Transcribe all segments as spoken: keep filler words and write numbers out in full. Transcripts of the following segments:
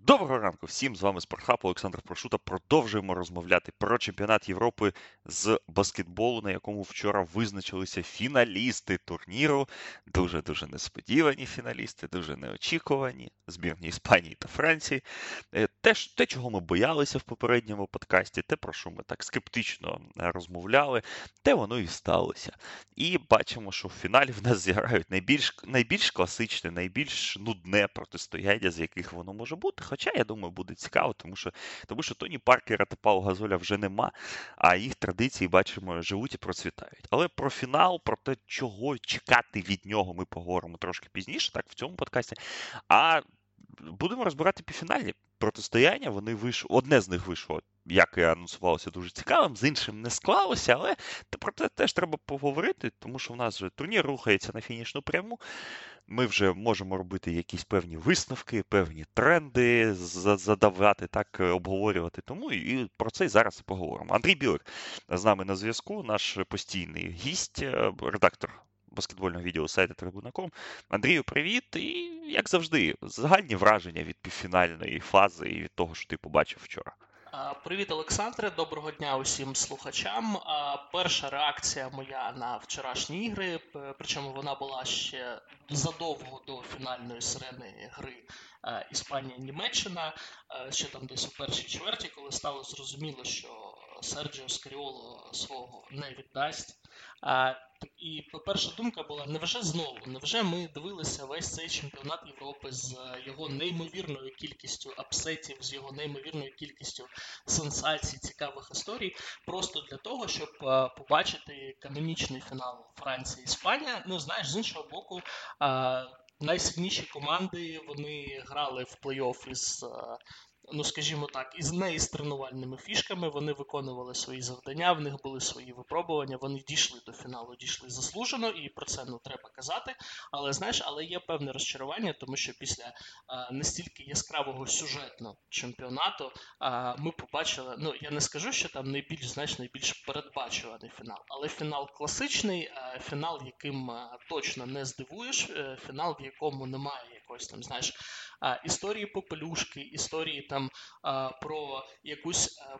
Доброго ранку всім, з вами Спортхаб, Олександр Прошута. Продовжуємо розмовляти про чемпіонат Європи з баскетболу, на якому вчора визначилися фіналісти турніру. Дуже-дуже несподівані фіналісти, дуже неочікувані. Збірні Іспанії та Франції. Е, Те, ж- те, чого ми боялися в попередньому подкасті, те, про що ми так скептично е, розмовляли, те воно і сталося. І бачимо, що в фіналі в нас зіграють найбільш, найбільш класичне, найбільш нудне протистояння, з яких воно може бути. Хоча, я думаю, буде цікаво, тому що, тому що Тоні Паркера та Пау Газоля вже нема, а їх традиції, бачимо, живуть і процвітають. Але про фінал, про те, чого чекати від нього, ми поговоримо трошки пізніше, так, в цьому подкасті. А будемо розбирати півфінальні протистояння. Вони вийшли, одне з них вийшло, як і анонсувалося, дуже цікавим, з іншим не склалося, але про це теж треба поговорити, тому що в нас вже турнір рухається на фінішну пряму. Ми вже можемо робити якісь певні висновки, певні тренди, задавати, так, обговорювати. Тому і про це і зараз і поговоримо. Андрій Білик з нами на зв'язку, наш постійний гість, редактор баскетбольного відділу сайту трибуна крапка ком. Андрію, привіт! І, як завжди, загальні враження від півфінальної фази і від того, що ти побачив вчора. А, Привіт, Олександре, доброго дня усім слухачам. А, Перша реакція моя на вчорашні ігри, п- причому вона була ще задовго до фінальної сирени гри а, Іспанія-Німеччина, а, ще там десь у першій чверті, коли стало зрозуміло, що Серджіо Скаріоло свого не віддасть. А, І перша думка була, невже знову, невже ми дивилися весь цей чемпіонат Європи з його неймовірною кількістю апсетів, з його неймовірною кількістю сенсацій, цікавих історій, просто для того, щоб е, побачити канонічний фінал Франція-Іспанія. Ну, знаєш, з іншого боку, е, найсильніші команди, вони грали в плей-офф із, е, ну, скажімо так, із не із тренувальними фішками, вони виконували свої завдання, в них були свої випробування, вони дійшли до фіналу, дійшли заслужено, і про це, ну, треба казати. Але, знаєш, але є певне розчарування, тому що після е, настільки яскравого сюжетного чемпіонату е, ми побачили, ну, я не скажу, що там найбільш, знаєш, найбільш передбачуваний фінал, але фінал класичний, е, фінал, яким е, точно не здивуєш, е, фінал, в якому немає якоїсь там, знаєш, е, історії попелюшки, історії там е, про якусь е,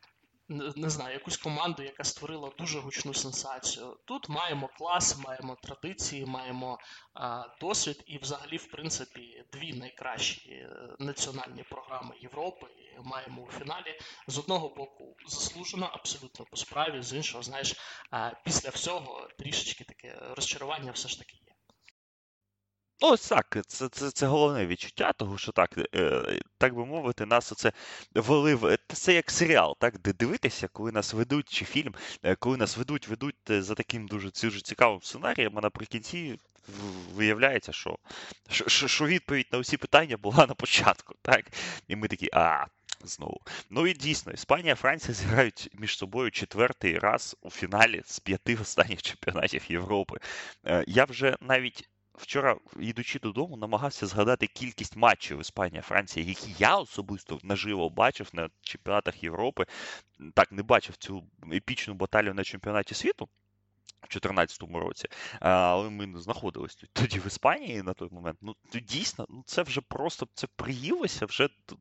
не не знаю, якусь команду, яка створила дуже гучну сенсацію. Тут маємо клас, маємо традиції, маємо а, досвід і взагалі, в принципі, дві найкращі е, національні програми Європи маємо у фіналі. З одного боку, заслужено, абсолютно по справі, з іншого, знаєш, а, після всього трішечки таке розчарування все ж таки є. Ну, ось так, це, це, це головне відчуття, того, що так, е, так би мовити, нас оце вели в... Це як серіал, так, де дивитися, коли нас ведуть, чи фільм, е, коли нас ведуть, ведуть е, за таким дуже, дуже цікавим сценарієм, а наприкінці в- виявляється, що, що, що що відповідь на усі питання була на початку, так? І ми такі, а, знову. Ну і дійсно, Іспанія, Франція зіграють між собою четвертий раз у фіналі з п'яти останніх чемпіонатів Європи. Е, Я вже навіть вчора, йдучи додому, намагався згадати кількість матчів Іспанія-Франція, які я особисто наживо бачив на чемпіонатах Європи. Так, не бачив цю епічну баталію на чемпіонаті світу в чотирнадцятому році, а, але ми знаходились т- тоді в Іспанії на той момент. Ну, то дійсно, ну це вже просто це приїлося вже до,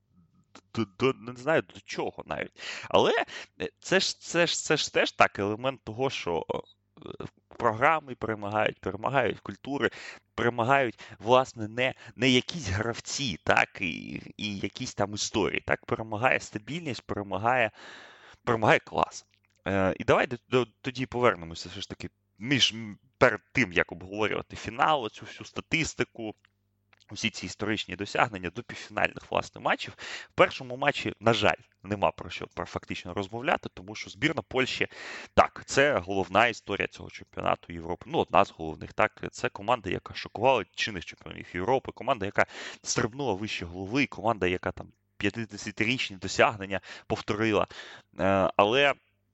до, до не знаю до чого навіть. Але е, це ж це ж це ж теж так елемент того, що е, програми перемагають, перемагають культури, перемагають, власне, не, не якісь гравці, так, і, і якісь там історії. Так, перемагає стабільність, перемагає, перемагає клас. Е, і давай до, до, тоді повернемося все ж таки між м, перед тим, як обговорювати фінал, цю всю статистику, усі ці історичні досягнення до півфінальних, власне, матчів. В першому матчі, на жаль, нема про що про фактично розмовляти, тому що збірна Польщі, так, це головна історія цього чемпіонату Європи. Ну, одна з головних, так, це команда, яка шокувала чинних чемпіонів Європи, команда, яка стрибнула вище голови, команда, яка там п'ятдесятирічні досягнення повторила. Е, але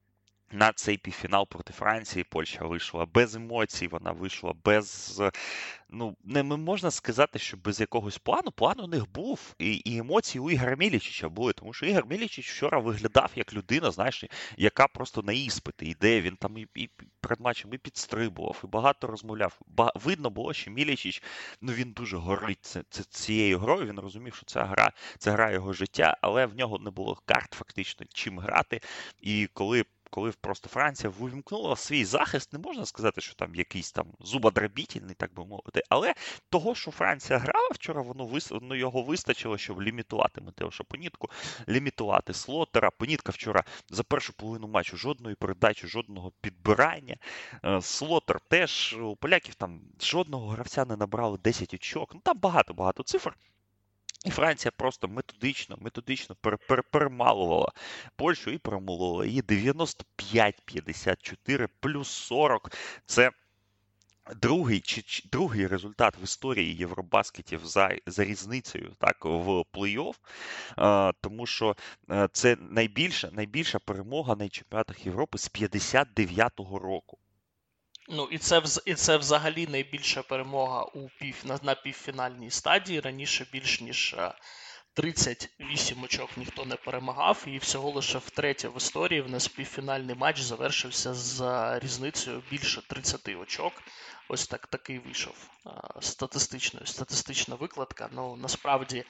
на цей півфінал проти Франції Польща вийшла без емоцій, вона вийшла без, ну, не можна сказати, що без якогось плану. План у них був, і, і емоції у Ігоря Мілічича були, тому що Ігор Мілічич вчора виглядав як людина, знаєш, яка просто на іспити йде, він там і, і перед матчем і підстрибував, і багато розмовляв. Ба, видно було, що Мілічич, ну, він дуже горить це, це, цією грою, він розумів, що ця гра, це гра його життя, але в нього не було карт фактично чим грати, і коли коли просто Франція вимкнула свій захист, не можна сказати, що там якийсь там зубодробітельний, так би мовити, але того, що Франція грала вчора, воно, вис... воно його вистачило, щоб лімітувати Матеуша Понітку, лімітувати Слотера. Понітка вчора за першу половину матчу жодної передачі, жодного підбирання. Слотер теж, у поляків там жодного гравця не набрали десять очок, ну там багато-багато цифр. І Франція просто методично, методично пер, пер, перемалувала Польщу і перемолола її дев'яносто п'ять п'ятдесят чотири плюс сорок. Це другий, чи, чи, другий результат в історії Євробаскетів за, за різницею так, в плей-офф, а, тому що а, це найбільша, найбільша перемога на чемпіонатах Європи з п'ятдесят дев'ятого року. Ну, і це, і це взагалі найбільша перемога у пів, на, на півфінальній стадії. Раніше більш ніж тридцять вісім очок ніхто не перемагав, і всього лише втретє в історії в нас півфінальний матч завершився з різницею більше тридцять очок. Ось так такий вийшов статистичною, статистична викладка. Ну, насправді,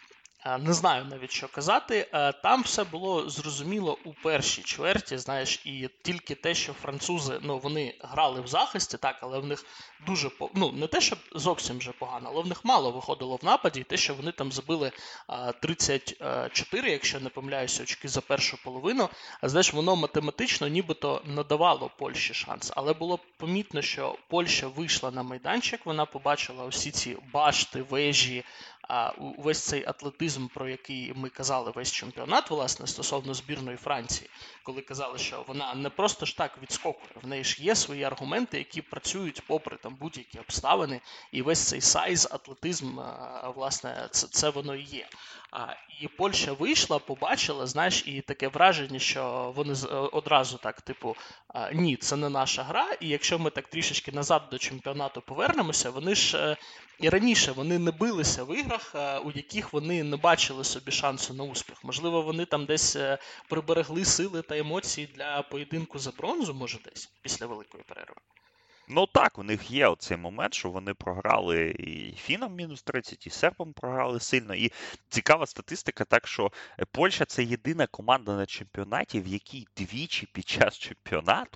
не знаю навіть, що казати. Там все було зрозуміло у першій чверті, знаєш, і тільки те, що французи, ну, вони грали в захисті, так, але в них дуже, ну, не те, що зовсім вже погано, але в них мало виходило в нападі, і те, що вони там забили тридцять чотири, якщо не помиляюся, очки за першу половину, а знаєш, воно математично нібито надавало Польщі шанс, але було помітно, що Польща вийшла на майданчик, вона побачила усі ці башти, вежі, а увесь цей атлетизм, про який ми казали весь чемпіонат, власне, стосовно збірної Франції, коли казали, що вона не просто ж так відскокує, в неї ж є свої аргументи, які працюють попри там будь-які обставини, і весь цей сайз, атлетизм, власне, це, це воно і є. І Польща вийшла, побачила, знаєш, і таке враження, що вони одразу так, типу, ні, це не наша гра, і якщо ми так трішечки назад до чемпіонату повернемося, вони ж і раніше вони не билися в іграх, у яких вони не бачили собі шансу на успіх. Можливо, вони там десь приберегли сили та емоції для поєдинку за бронзу, може десь, після великої перерви. Ну так, у них є оцей момент, що вони програли і фінам мінус тридцять, і сербам програли сильно. І цікава статистика, так що Польща – це єдина команда на чемпіонаті, в якій двічі під час чемпіонату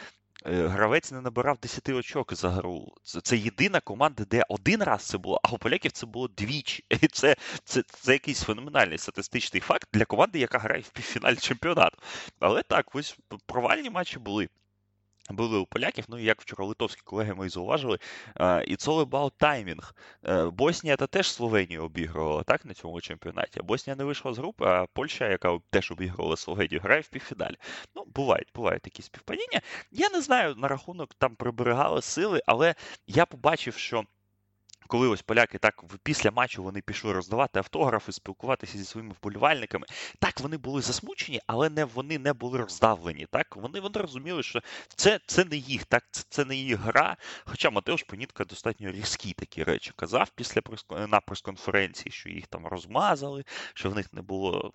гравець не набирав десять очок за гру. Це, це єдина команда, де один раз це було, а у поляків це було двічі. І це, це, це якийсь феноменальний статистичний факт для команди, яка грає в півфіналі чемпіонату. Але так, ось провальні матчі були. Були у поляків, ну і як вчора литовські колеги мої зауважили, it's all about timing. Боснія та теж Словенію обігрувала, так, на цьому чемпіонаті. Боснія не вийшла з групи, а Польща, яка теж обігрувала Словенію, грає в півфіналі. Ну, бувають, бувають такі співпадіння. Я не знаю на рахунок там приберегали сили, але я побачив, що коли ось поляки так після матчу вони пішли роздавати автографи, спілкуватися зі своїми вболівальниками, так вони були засмучені, але не вони не були роздавлені. Так вони вони розуміли, що це, це не їх, так це, це не їх гра. Хоча Матеуш Понітка достатньо різкі такі речі казав після на прес-конференції, що їх там розмазали, що в них не було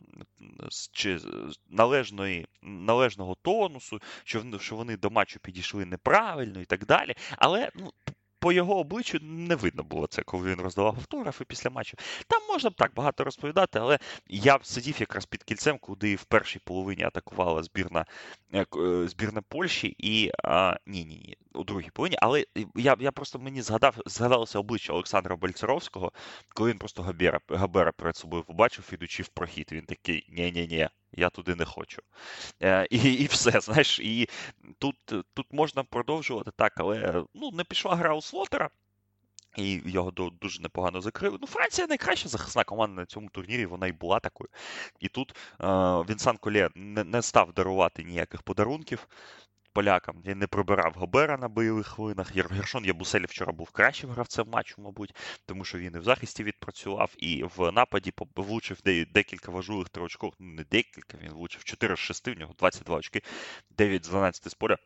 чи належної належного тонусу, що що вони до матчу підійшли неправильно і так далі. Але ну. По його обличчю не видно було це, коли він роздавав автографи після матчу. Там можна б так багато розповідати, але я сидів якраз під кільцем, куди в першій половині атакувала збірна, збірна Польщі і а, ні, ні, ні, у другій половині, але я, я просто мені згадав, згадалося обличчя Олександра Бальцеровського, коли він просто Габера, Габера перед собою побачив, ідучи в прохід. Він такий, ні-ні-ні, я туди не хочу. Е, і, і все, знаєш, і тут, тут можна продовжувати так, але ну, не пішла гра у Слотера, і його дуже непогано закрили. Ну, Франція найкраща захисна команда на цьому турнірі, вона і була такою. І тут е, Вінсан Колє не, не став дарувати ніяких подарунків. полякам. Він не прибирав Гобера на бойових хвилинах. Гершон Ябусель вчора був кращим гравцем матчу, мабуть, тому що він і в захисті відпрацював, і в нападі влучив декілька важливих триочкових, ну не декілька, він влучив чотири з шести, в нього двадцять два очки, дев'ять з дванадцяти з поля.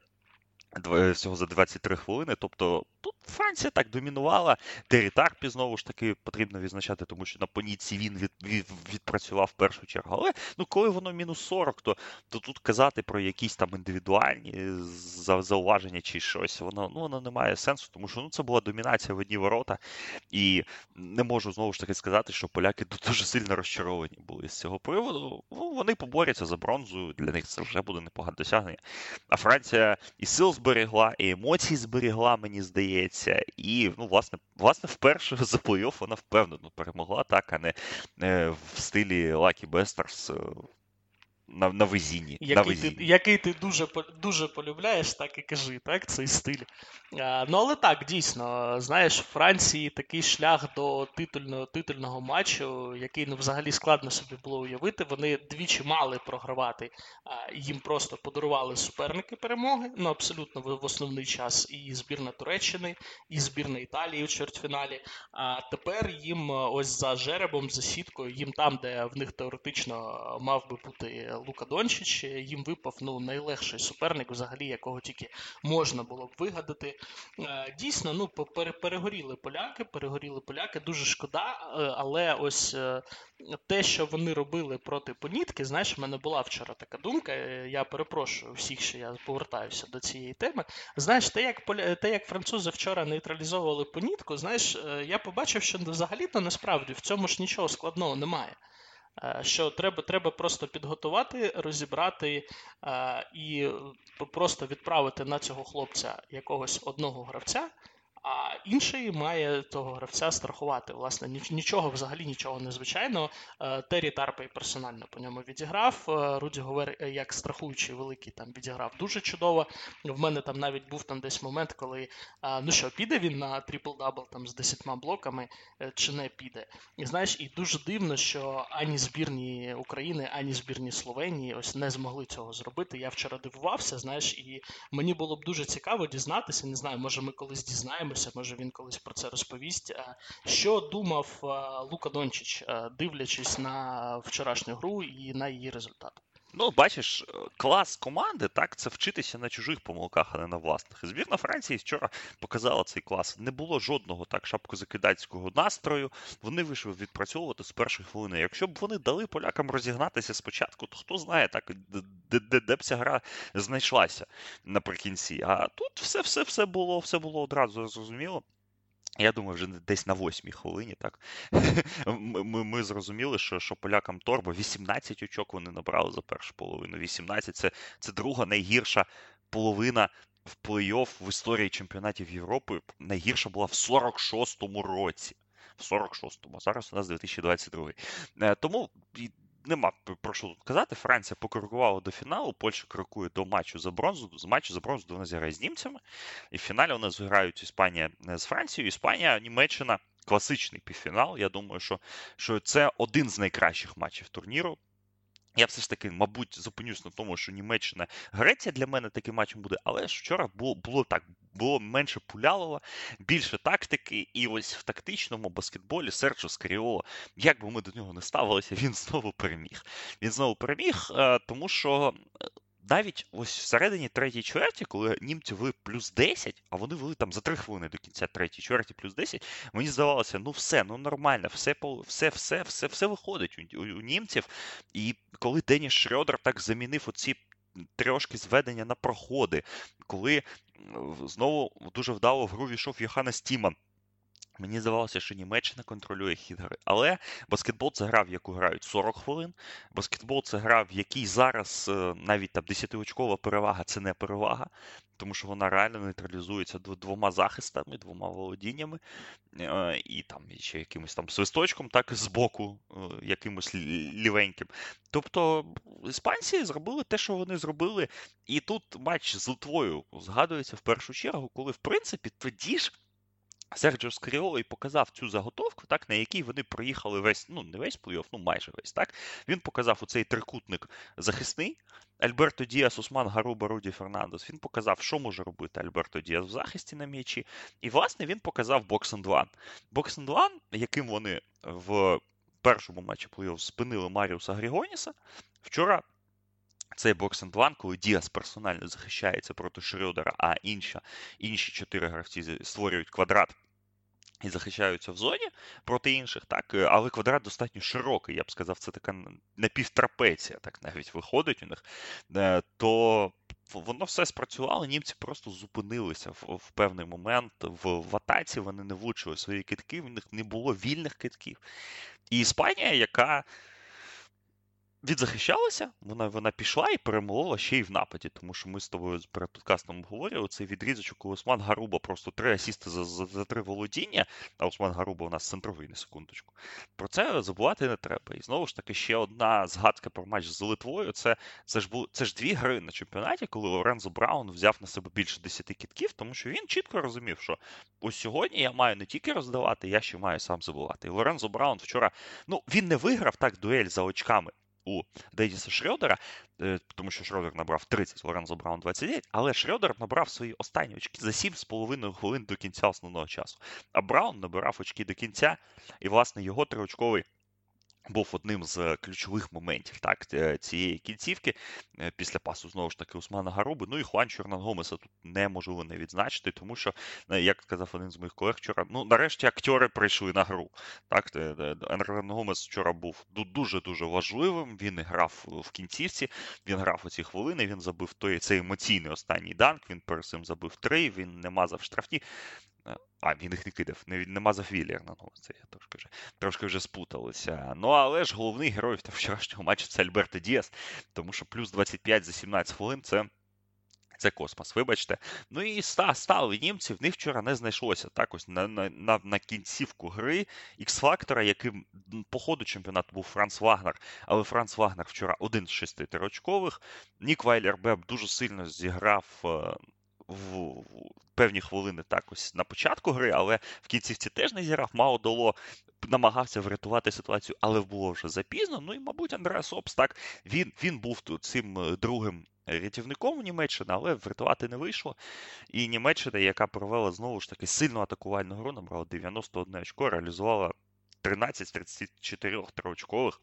Всього за двадцять три хвилини, тобто тут Франція так домінувала, Террі Тарпі знову ж таки потрібно відзначати, тому що на поніці він від, від, відпрацював в першу чергу, але ну коли воно мінус сорок, то, то тут казати про якісь там індивідуальні зауваження чи щось, воно, ну, воно не має сенсу, тому що ну, це була домінація в одні ворота, і не можу знову ж таки сказати, що поляки дуже сильно розчаровані були з цього приводу, ну, вони поборються за бронзу, для них це вже буде непогане досягнення, а Франція і сил зберегла, і емоції зберегла, мені здається, і, ну, власне, власне вперше за плей-офф вона впевнено перемогла, так, а не е, в стилі Lucky Bastards е, на, на везінні. Який, на везінні. Ти, який ти дуже, дуже полюбляєш, так і кажи, так, цей стиль. А, ну, але так, дійсно, знаєш, в Франції такий шлях до титульного, титульного матчу, який, ну, взагалі складно собі було уявити. Вони двічі мали програвати, а, їм просто подарували суперники перемоги, ну, абсолютно в, в основний час, і збірна Туреччини, і збірна Італії у чвертьфіналі. А тепер їм ось за жеребом, за сіткою, їм там, де в них теоретично мав би бути Лука Дончич, їм випав, ну, найлегший суперник, взагалі, якого тільки можна було б вигадати. Дійсно, ну, перегоріли поляки, перегоріли поляки, дуже шкода, але ось те, що вони робили проти Понітки, знаєш, в мене була вчора така думка, я перепрошую всіх, що я повертаюся до цієї теми. Знаєш, те, як, поля... те, як французи вчора нейтралізовували Понітку, знаєш, я побачив, що взагалі-то насправді в цьому ж нічого складного немає. Що треба, треба просто підготувати, розібрати а, і просто відправити на цього хлопця якогось одного гравця, а інший має того гравця страхувати. Власне, нічого, взагалі нічого незвичайного. Террі Тарпей персонально по ньому відіграв. Руді Говер, як страхуючий великий, там відіграв дуже чудово. В мене там навіть був там десь момент, коли, ну що, піде він на трипл-дабл там з десятьма блоками, чи не піде. І знаєш, і дуже дивно, що ані збірні України, ані збірні Словенії ось не змогли цього зробити. Я вчора дивувався, знаєш, і мені було б дуже цікаво дізнатися, не знаю, може ми колись дізнаємося, може він колись про це розповість. Що думав Лука Дончич, дивлячись на вчорашню гру і на її результат? Ну, бачиш, клас команди, так, це вчитися на чужих помилках, а не на власних. І збірна Франції вчора показала цей клас. Не було жодного так шапкозакидацького настрою. Вони вийшли відпрацьовувати з першої хвилини. Якщо б вони дали полякам розігнатися спочатку, то хто знає, так, де, де, де б ця гра знайшлася наприкінці. А тут все-все-все було, все було одразу зрозуміло. Я думаю, вже десь на восьмій хвилині, так, ми, ми зрозуміли, що, що полякам торбо, вісімнадцять очок вони набрали за першу половину. вісімнадцять це, це друга найгірша половина в плей-офф в історії чемпіонатів Європи. Найгірша була в сорок шостому році. В сорок шостому, а зараз у нас дві тисячі двадцять другий. Тому нема про що тут казати. Франція покрокувала до фіналу, Польща крокує до матчу за бронзу. З матчу за бронзу вона зіграє з німцями. І в фіналі у нас грають Іспанія з Францією. Іспанія, Німеччина. Класичний півфінал. Я думаю, що, що це один з найкращих матчів турніру. Я все ж таки, мабуть, зупинюсь на тому, що Німеччина, Греція для мене таким матчем буде, але ж вчора було, було так, було менше Пулялова, більше тактики, і ось в тактичному баскетболі Серджо Скаріоло, як би ми до нього не ставилися, він знову переміг. Він знову переміг, тому що навіть ось всередині третьої чверті, коли німці вели плюс десять, а вони вели там за три хвилини до кінця третьої чверті плюс десять, мені здавалося, ну все, ну нормально, все, все, все, все, все виходить у, у, у німців. І коли Деніс Шрьодер так замінив оці трошки зведення на проходи, коли знову дуже вдало в гру війшов Йоханнес Тіман, мені здавалося, що Німеччина контролює хід гри. Але баскетбол – це гра, в яку грають сорок хвилин. Баскетбол – це гра, в якій зараз навіть там десятиочкова перевага – це не перевага. Тому що вона реально нейтралізується двома захистами, двома володіннями. І там ще якимось там свисточком, так, з боку, якимось лівеньким. Тобто іспанці зробили те, що вони зробили. І тут матч з Литвою згадується в першу чергу, коли, в принципі, тоді ж Серджіо Скаріоло і показав цю заготовку, так, на якій вони проїхали весь, ну не весь плей-офф, ну майже весь, так. Він показав оцей трикутник захисний. Альберто Діас, Усман Гаруба, Руді Фернандес. Він показав, що може робити Альберто Діас в захисті на м'ячі. І, власне, він показав бокс-енд-ван. Бокс-енд-ван, яким вони в першому матчі плей-офф спинили Маріуса Грігоніса, вчора цей бокс-енд-ван, коли Діас персонально захищається проти Шрёдера, а інші, інші чотири гравці створюють квадрат і захищаються в зоні проти інших, так, але квадрат достатньо широкий, я б сказав, це така напівтрапеція, так навіть виходить у них, то воно все спрацювало, німці просто зупинилися в, в певний момент в, в атаці, вони не влучили свої китки, в них не було вільних китків. І Іспанія, яка відзахищалася, вона, вона пішла і перемолола ще й в нападі, тому що ми з тобою перед подкастом обговорювали цей відрізочок, коли Усман Гаруба просто три асісти за, за, за три володіння, а Усман Гаруба у нас центровий, на секундочку. Про це забувати не треба. І знову ж таки, ще одна згадка про матч з Литвою, це, це, ж, бу, це ж дві гри на чемпіонаті, коли Лорензо Браун взяв на себе більше десяти кітків, тому що він чітко розумів, що ось сьогодні я маю не тільки роздавати, я ще маю сам забувати. І Лорензо Браун вчора, ну, він не виграв так дуель за очками у Деніса Шрёдера, тому що Шрёдер набрав тридцять, Лорензо Браун двадцять дев'ять, але Шрёдер набрав свої останні очки за сім з половиною хвилин до кінця основного часу. А Браун набирав очки до кінця, і, власне, його триочковий був одним з ключових моментів, так, цієї кінцівки після пасу, знову ж таки, Усмана Гаруби. Ну і Хуанчо Ернан-Гомеса тут неможливо не відзначити, тому що, як сказав один з моїх колег вчора, ну, нарешті актори прийшли на гру. Так, Ернан-Гомес вчора був дуже-дуже важливим, він грав в кінцівці, він грав у ці хвилини, він забив той, цей емоційний останній данк, він перед цим забив три, він не мазав штрафні. А, він їх не кидав, не, не мазав Віллер на ногу, це я трошки вже, трошки вже спуталися. Ну, але ж головний герой вчорашнього матчу це Альберто Діас, тому що плюс двадцять п'ять за сімнадцять хвилин це, це космос, вибачте. Ну і стали німці, в них вчора не знайшлося. Так, ось на, на, на кінцівку гри Ікс-фактора, яким по ходу чемпіонату був Франц Вагнер, але Франц Вагнер вчора один з шести трьохочкових. Нік Вайлер-Беб дуже сильно зіграв в, в певні хвилини так ось на початку гри, але в кінцівці теж не зіграв, мало дало, намагався врятувати ситуацію, але було вже запізно. Ну і, мабуть, Андреас Опс, так, він, він був тут цим другим рятівником у Німеччини, але врятувати не вийшло. І Німеччина, яка провела знову ж таки сильну атакувальну гру, набрала дев'яносто одне очко, реалізувала тринадцять з тридцяти чотирьох триочкових.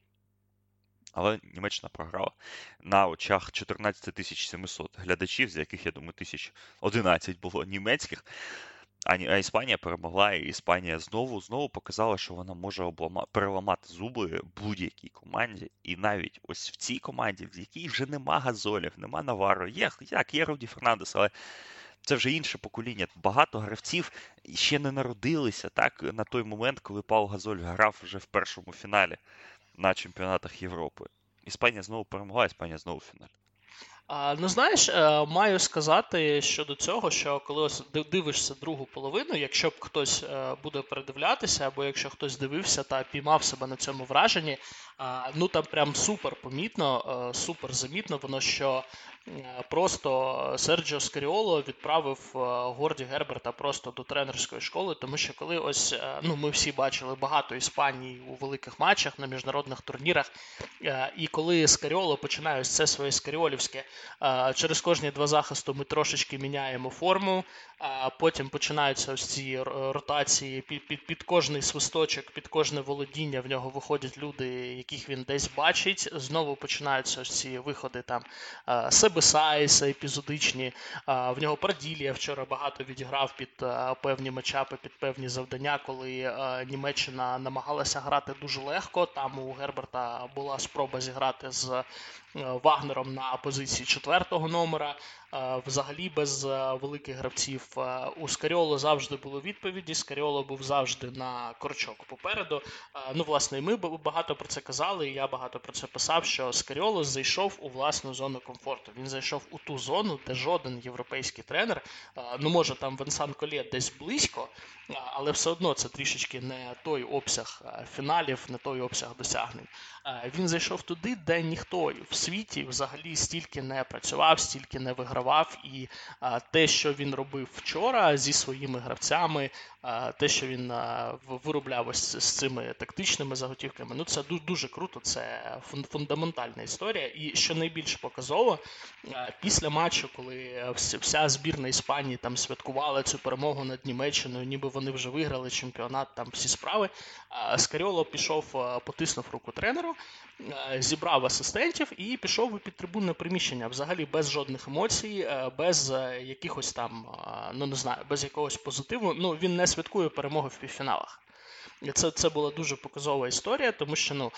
Але Німеччина програла на очах чотирнадцять тисяч сімсот глядачів, з яких, я думаю, тисяч одинадцять було німецьких. А Іспанія перемогла, і Іспанія знову знову показала, що вона може облама... переламати зуби будь-якій команді. І навіть ось в цій команді, в якій вже нема Газолів, нема Наваро, є, як, є Руді Фернандес, але це вже інше покоління. Багато гравців ще не народилися так, на той момент, коли Пау Газоль грав вже в першому фіналі на чемпіонатах Європи. Іспанія знову перемогла, Іспанія знову в фіналі. А, ну, знаєш, маю сказати щодо цього, що коли ось дивишся другу половину, якщо б хтось буде передивлятися, або якщо хтось дивився та піймав себе на цьому враженні, ну там прям супер помітно, супер замітно воно, що просто Серджіо Скаріоло відправив Горді Герберта просто до тренерської школи, тому що коли ось, ну ми всі бачили багато Іспанії у великих матчах на міжнародних турнірах, і коли Скаріоло починає ось це своє скаріолівське, через кожні два захисту ми трошечки міняємо форму, а потім починаються ось ці ротації, під, під, під кожний свисточок, під кожне володіння в нього виходять люди, яких він десь бачить, знову починаються ось ці виходи там Себесайса епізодичні, в нього Праділія вчора багато відіграв під певні матчапи, під певні завдання, коли Німеччина намагалася грати дуже легко, там у Герберта була спроба зіграти з Вагнером на позиції четвертого номера, взагалі без великих гравців. У Скаріоло завжди були відповіді, Скаріоло був завжди на корчок попереду. Ну, власне, і ми багато про це казали, і я багато про це писав, що Скаріоло зайшов у власну зону комфорту. Він зайшов у ту зону, де жоден європейський тренер, ну, може, там Венсан Колє десь близько, але все одно це трішечки не той обсяг фіналів, не той обсяг досягнень. Він зайшов туди, де ніхто в світі взагалі стільки не працював, стільки не вигравав, і те, що він робив вчора зі своїми гравцями, те, що він виробляв ось з цими тактичними заготівками, ну це дуже круто, це фундаментальна історія. І що найбільш показово, після матчу, коли вся збірна Іспанії там святкувала цю перемогу над Німеччиною, ніби вони вже виграли чемпіонат, там всі справи, Скаріоло пішов, потиснув руку тренеру, зібрав асистентів і пішов у підтрибунне приміщення, взагалі без жодних емоцій, без якихось там, ну не знаю, без якогось позитиву. Ну, він не святкує перемоги в півфіналах. І це, це була дуже показова історія, тому що ну,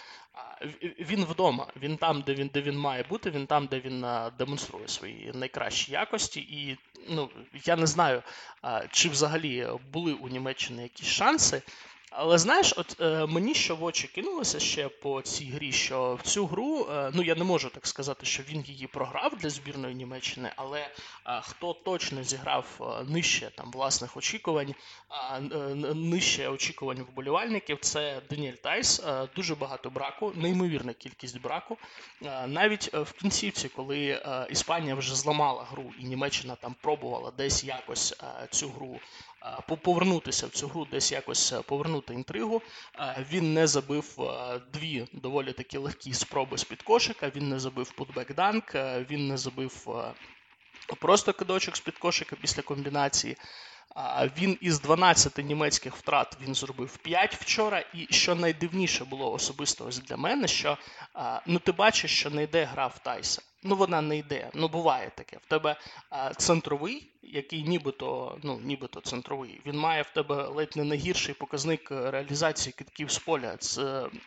він вдома, він там, де він, де він має бути, він там, де він демонструє свої найкращі якості. І ну, я не знаю, чи взагалі були у Німеччини якісь шанси. Але знаєш, от е, мені що в очі кинулося ще по цій грі, що в цю гру, е, ну я не можу так сказати, що він її програв для збірної Німеччини, але е, хто точно зіграв е, нижче там власних очікувань, е, нижче очікувань вболівальників, це Даніель Тайс. Е, дуже багато браку, неймовірна кількість браку. Е, навіть в кінцівці, коли е, Іспанія вже зламала гру і Німеччина там пробувала десь якось е, цю гру повернутися в цю гру, десь якось повернути інтригу. Він не забив дві доволі такі легкі спроби з-під кошика, він не забив путбек-данк, він не забив просто кидочок з-під кошика після комбінації. Він із дванадцяти німецьких втрат він зробив п'ять вчора, і що найдивніше було особисто ось для мене, що ну ти бачиш, що не йде гра в Тайса. Ну вона не йде, ну буває таке. В тебе центровий, який нібито, ну нібито центровий, він має в тебе ледь не найгірший показник реалізації китків з поля з,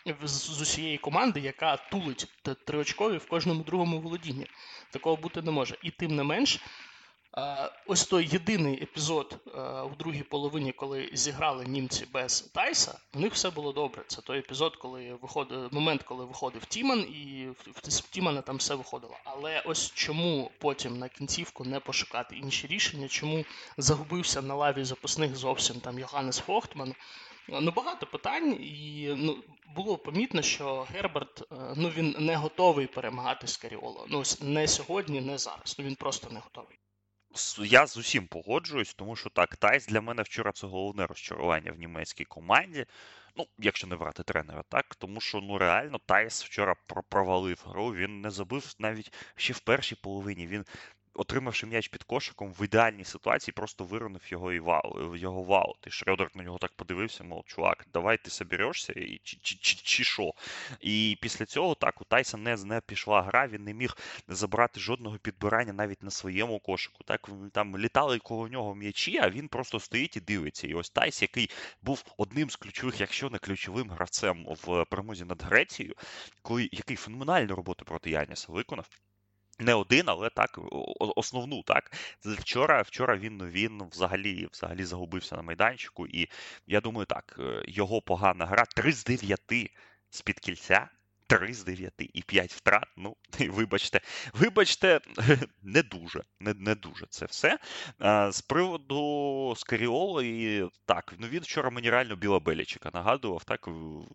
з усієї команди, яка тулить триочкові в кожному другому володінні. Такого бути не може. І тим не менш, ось той єдиний епізод у другій половині, коли зіграли німці без Тайса, у них все було добре. Це той епізод, коли виходив, момент, коли виходив Тіман, і в Тімана там все виходило. Але ось чому потім на кінцівку не пошукати інші рішення, чому загубився на лаві запасних зовсім там Йоханнес Фохтман. Ну, багато питань, і ну, було помітно, що Герберт, ну, він не готовий перемагати Скаріоло. Ну, не сьогодні, не зараз. Ну, він просто не готовий. Я з усім погоджуюсь, тому що так, Тайс для мене вчора це головне розчарування в німецькій команді. Ну, якщо не брати тренера, так, тому що ну реально Тайс вчора провалив гру, він не забив навіть ще в першій половині. Він, отримавши м'яч під кошиком, в ідеальній ситуації просто виронив його і вау, його в аут. І Шрёдер на нього так подивився, мов, чувак, давай ти соберешся, і чи, чи, чи, чи що? І після цього так, у Тайса не, не пішла гра, він не міг забрати жодного підбирання навіть на своєму кошику. Так, там літали коло нього м'ячі, а він просто стоїть і дивиться. І ось Тайс, який був одним з ключових, якщо не ключовим гравцем в перемозі над Грецією, коли, який феноменальну роботу проти Яніса виконав. Не один, але так, основну, так. Вчора, вчора він, він взагалі, взагалі загубився на майданчику, і я думаю, так, його погана гра, три з дев'яти з-під кільця, три з дев'яти і п'ять втрат, ну, вибачте, вибачте, не дуже, не, не дуже це все. А, з приводу Скаріоло, і так, ну він вчора мені реально Біла Белічика нагадував, так,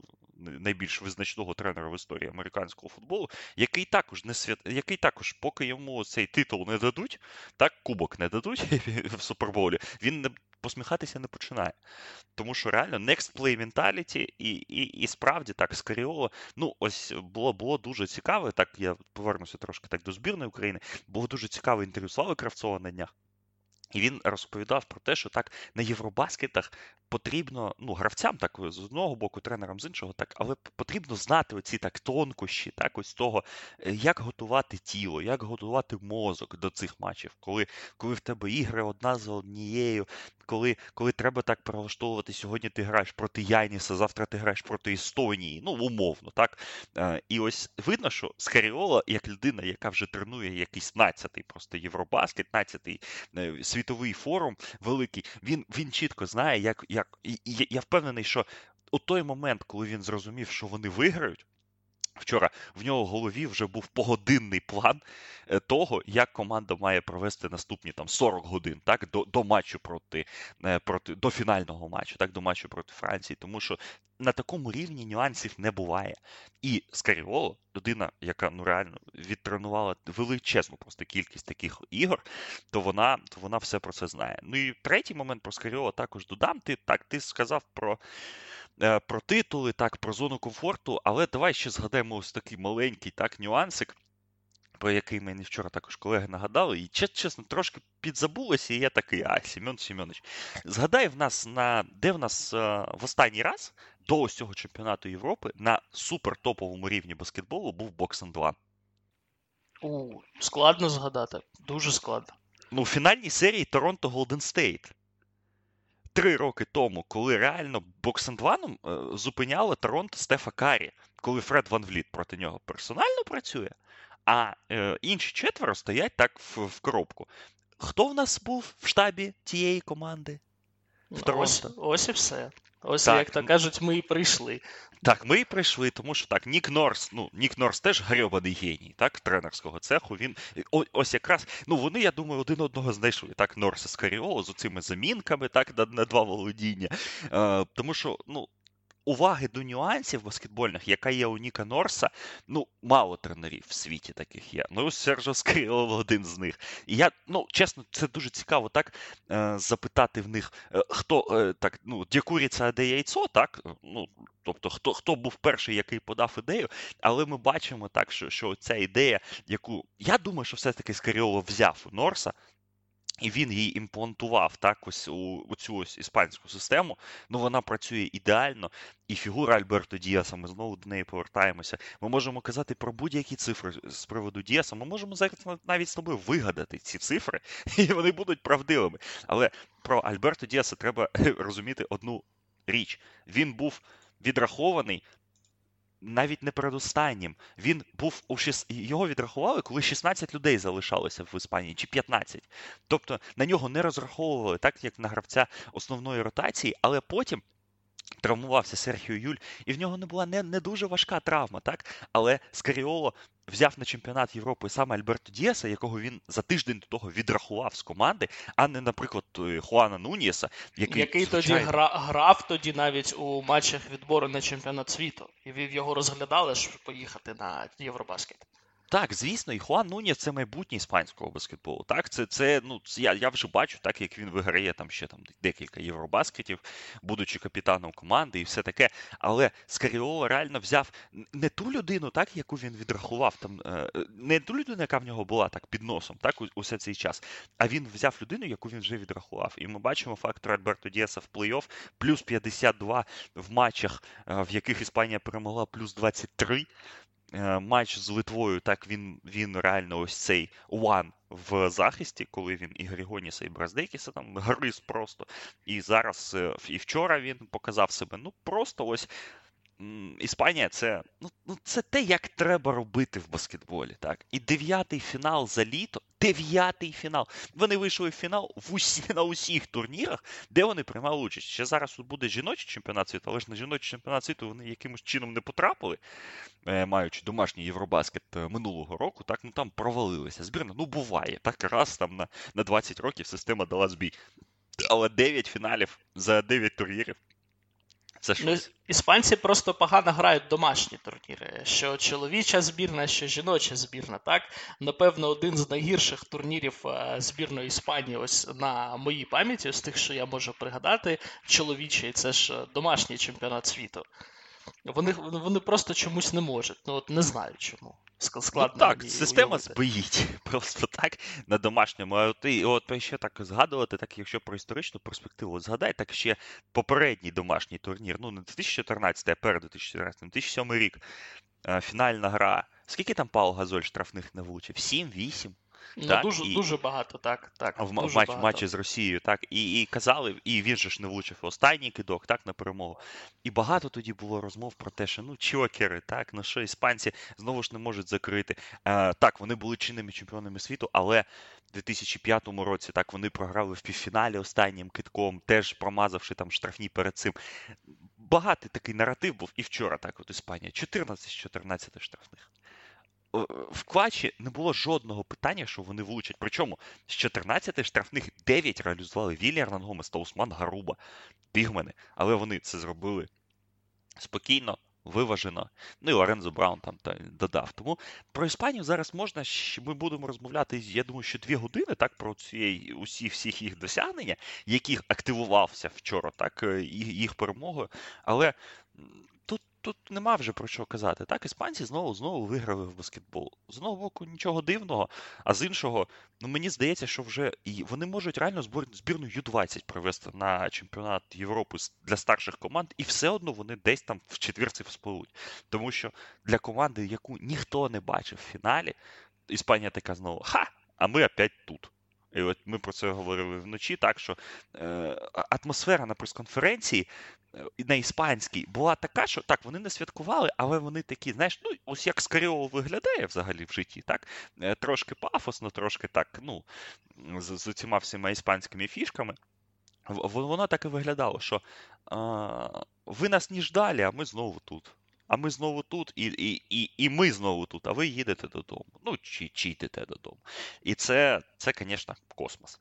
найбільш визначного тренера в історії американського футболу, який також не свят... який також, поки йому цей титул не дадуть, так, кубок не дадуть в Суперболі, він не посміхатися не починає. Тому що реально next play mentality і, і, і справді так, Скаріоло, ну ось було, було дуже цікаве, так я повернуся трошки так до збірної України, було дуже цікаве інтерв'ю Слави Кравцова на днях. І він розповідав про те, що так на Євробаскетах потрібно, ну, гравцям так з одного боку, тренерам з іншого, так, але потрібно знати оці так тонкощі, так, ось того, як готувати тіло, як готувати мозок до цих матчів, коли, коли в тебе ігри одна за однією, коли, коли треба так прилаштовувати, сьогодні ти граєш проти Яніса, завтра ти граєш проти Естонії, ну, умовно, так. І ось видно, що Скаріоло, як людина, яка вже тренує якийсь надцятий просто Євробаскет, надцятий світовий форум великий, він, він чітко знає, як, як і, і я впевнений, що у той момент, коли він зрозумів, що вони виграють, Вчора в нього в голові вже був погодинний план е, того, як команда має провести наступні там сорок годин, так, до, до матчу проти, е, проти до фінального матчу, так, до матчу проти Франції, тому що на такому рівні нюансів не буває. І Скаріоло, людина, яка ну реально відтренувала величезну просто кількість таких ігор, то вона, то вона все про це знає. Ну і третій момент про Скаріоло також додам. Ти так, ти сказав про е, про титули, так, про зону комфорту, але давай ще згадаємо ось такий маленький так, нюансик, про який мені вчора також колеги нагадали, і чесно, трошки підзабулося, і я такий, а, Сім'ян Сім'янович, згадай в нас, на, де в нас а, в останній раз до ось цього чемпіонату Європи на супертоповому рівні баскетболу був бокс-ен два. У, складно згадати, дуже складно. Ну, у фінальній серії Торонто Голден Стейт. Три роки тому, коли реально бокс-ен два е, зупиняло Торонто Стефа Карі, коли Фред Ван Вліт проти нього персонально працює, а е, інші четверо стоять так в, в коробку. Хто в нас був в штабі тієї команди? В Торонто? Ось, ось і все. Ось, Так. як то кажуть, ми і прийшли. Так, ми і прийшли, тому що так, Нік Норс, ну, Нік Норс теж грьобаний геній, так, тренерського цеху, він, о, ось якраз, ну, вони, я думаю, один одного знайшли, так, Норс і Скаріоло з цими замінками, так, на, на два володіння, е, тому що, ну, уваги до нюансів баскетбольних, яка є у Ніка Норса, ну, мало тренерів в світі таких є. Ну, Сержо Скаріоло один з них. І я, ну, чесно, це дуже цікаво так е, запитати в них, е, хто, е, так, ну, де куриця, а де яйцо, так, ну, тобто, хто, хто був перший, який подав ідею, але ми бачимо так, що, що ця ідея, яку, я думаю, що все-таки Скаріоло взяв у Норса, і він її імплантував так ось у, у цю ось іспанську систему, ну вона працює ідеально, і фігура Альберто Діаса, ми знову до неї повертаємося. Ми можемо казати про будь-які цифри з приводу Діаса, ми можемо зараз навіть з тобою вигадати ці цифри, і вони будуть правдивими. Але про Альберто Діаса треба розуміти одну річ. Він був відрахований навіть не передостаннім. Він був у шіс... Його відрахували, коли шістнадцять людей залишалося в Іспанії, чи п'ятнадцять. Тобто на нього не розраховували, так як на гравця основної ротації, але потім травмувався Серхіо Юль, і в нього не була не, не дуже важка травма, так? Але Скаріоло взяв на чемпіонат Європи саме Альберто Діаса, якого він за тиждень до того відрахував з команди, а не, наприклад, Хуана Нунієса, який, який звичайно... тоді гра, грав тоді навіть у матчах відбору на чемпіонат світу. І його розглядали, щоб поїхати на Євробаскет. Так, звісно, і Хуан Нунієс – це майбутнє іспанського баскетболу. Так, це, це ну, я, я вже бачу, так, як він виграє там ще там декілька євробаскетів, будучи капітаном команди і все таке. Але Скаріоло реально взяв не ту людину, так, яку він відрахував, там, не ту людину, яка в нього була так під носом, так, усе цей час, а він взяв людину, яку він вже відрахував. І ми бачимо фактор Альберто Діаса в плей-офф, плюс п'ятдесят два в матчах, в яких Іспанія перемогла, плюс двадцять три. Матч з Литвою, так він він реально ось цей one в захисті, коли він і Григоніса, і Браздекіса там гриз просто. І зараз, і вчора він показав себе. Ну, просто ось Іспанія це, ну, ну, це те, як треба робити в баскетболі. Так? І дев'ятий фінал за літо, дев'ятий фінал. Вони вийшли в фінал в усі, на усіх турнірах, де вони приймали участь. Ще зараз тут буде жіночий чемпіонат світу, але ж на жіночий чемпіонат світу вони якимось чином не потрапили, маючи домашній Євробаскет минулого року, так, ну там провалилися. Збірна, ну буває, так раз там на, на двадцять років система дала збій. Але дев'ять фіналів за дев'ять турнірів. Це ну, іспанці просто погано грають домашні турніри. Що чоловіча збірна, що жіноча збірна. Так, напевно, один з найгірших турнірів збірної Іспанії, ось на моїй пам'яті, з тих, що я можу пригадати, чоловічий, це ж домашній чемпіонат світу. Вони, вони просто чомусь не можуть. Ну от не знаю чому. Складно. Ну так, система збоїть просто так на домашньому. А от, і от ще так згадувати, так якщо про історичну перспективу, от згадай, так ще попередній домашній турнір, ну не дві тисячі чотирнадцятий, а перед дві тисячі чотирнадцятим, дві тисячі сьомий рік, фінальна гра. Скільки там Пау Газоль штрафних не влучив? Сім-вісім? Ну, так, дуже, і... дуже багато, так. так в дуже матч, багато. матчі з Росією, так, і, і казали, і він же ж не влучив останній кидок, так, на перемогу. І багато тоді було розмов про те, що, ну, чокери, так, ну, що іспанці знову ж не можуть закрити. Е, так, вони були чинними чемпіонами світу, але в дві тисячі п'ятому році, так, вони програли в півфіналі останнім кидком, теж промазавши там штрафні перед цим. багатий такий наратив був і вчора, так от Іспанія, чотирнадцять з чотирнадцяти штрафних. В Квачі не було жодного питання, що вони влучать. Причому з чотирнадцяти штрафних дев'ять реалізували Віллі Ернан Гомес та Усман Гаруба, бігмени. Але вони це зробили спокійно, виважено. Ну і Лорензо Браун там та, додав. Тому про Іспанію зараз можна, ми будемо розмовляти, я думаю, що дві години, так, про ці, усі всіх їх досягнення, яких активувався вчора, так, їх перемогою. Але тут Тут нема вже про що казати. Так, іспанці знову знову виграли в баскетбол. З одного боку, нічого дивного, а з іншого, ну мені здається, що вже і вони можуть реально збір, збірну ю двадцять провести на чемпіонат Європи для старших команд, і все одно вони десь там в четвірці вспливуть. Тому що для команди, яку ніхто не бачив в фіналі, Іспанія така знову, ха, а ми опять тут. І от ми про це говорили вночі, так що е, атмосфера на прес-конференції на іспанській була така, що так, вони не святкували, але вони такі, знаєш, ну, ось як Скаріол виглядає взагалі в житті, так? Трошки пафосно, трошки так, ну, з, з цими всіма іспанськими фішками. Воно так і виглядало, що а, ви нас не ждали, а ми знову тут. А ми знову тут, і, і, і, і ми знову тут, а ви їдете додому. Ну, чи, чи йдете додому. І це, це, звісно, космос.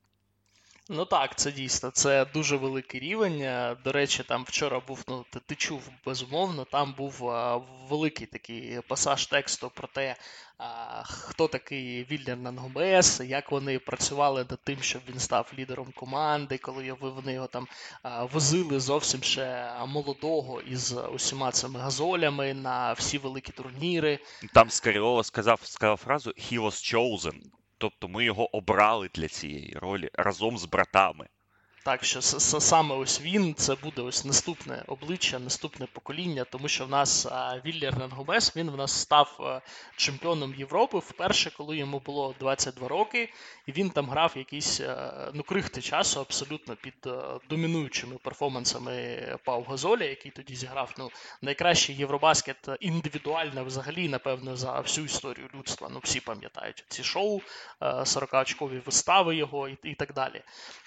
Ну так, це дійсно, це дуже великий рівень. До речі, там вчора був, ну, ти, ти чув, безумовно, там був а, великий такий пасаж тексту про те, а, хто такий Віллі Ернан Гомес, як вони працювали над тим, щоб він став лідером команди, коли вони його там а, возили зовсім ще молодого із усіма цими газолями на всі великі турніри. Там Скаріоло сказав, сказав фразу «He was chosen». Тобто ми його обрали для цієї ролі разом з братами. Так, що саме ось він, це буде ось наступне обличчя, наступне покоління, тому що в нас Віллі Ернан Гомес, він в нас став чемпіоном Європи вперше, коли йому було двадцять два роки, і він там грав якісь, ну, крихти часу абсолютно під домінуючими перформансами Пау Газоля, який тоді зіграв, ну, найкращий Євробаскет індивідуально взагалі, напевно, за всю історію людства. Ну, всі пам'ятають ці шоу, сорокаочкові вистави його і, і так далі.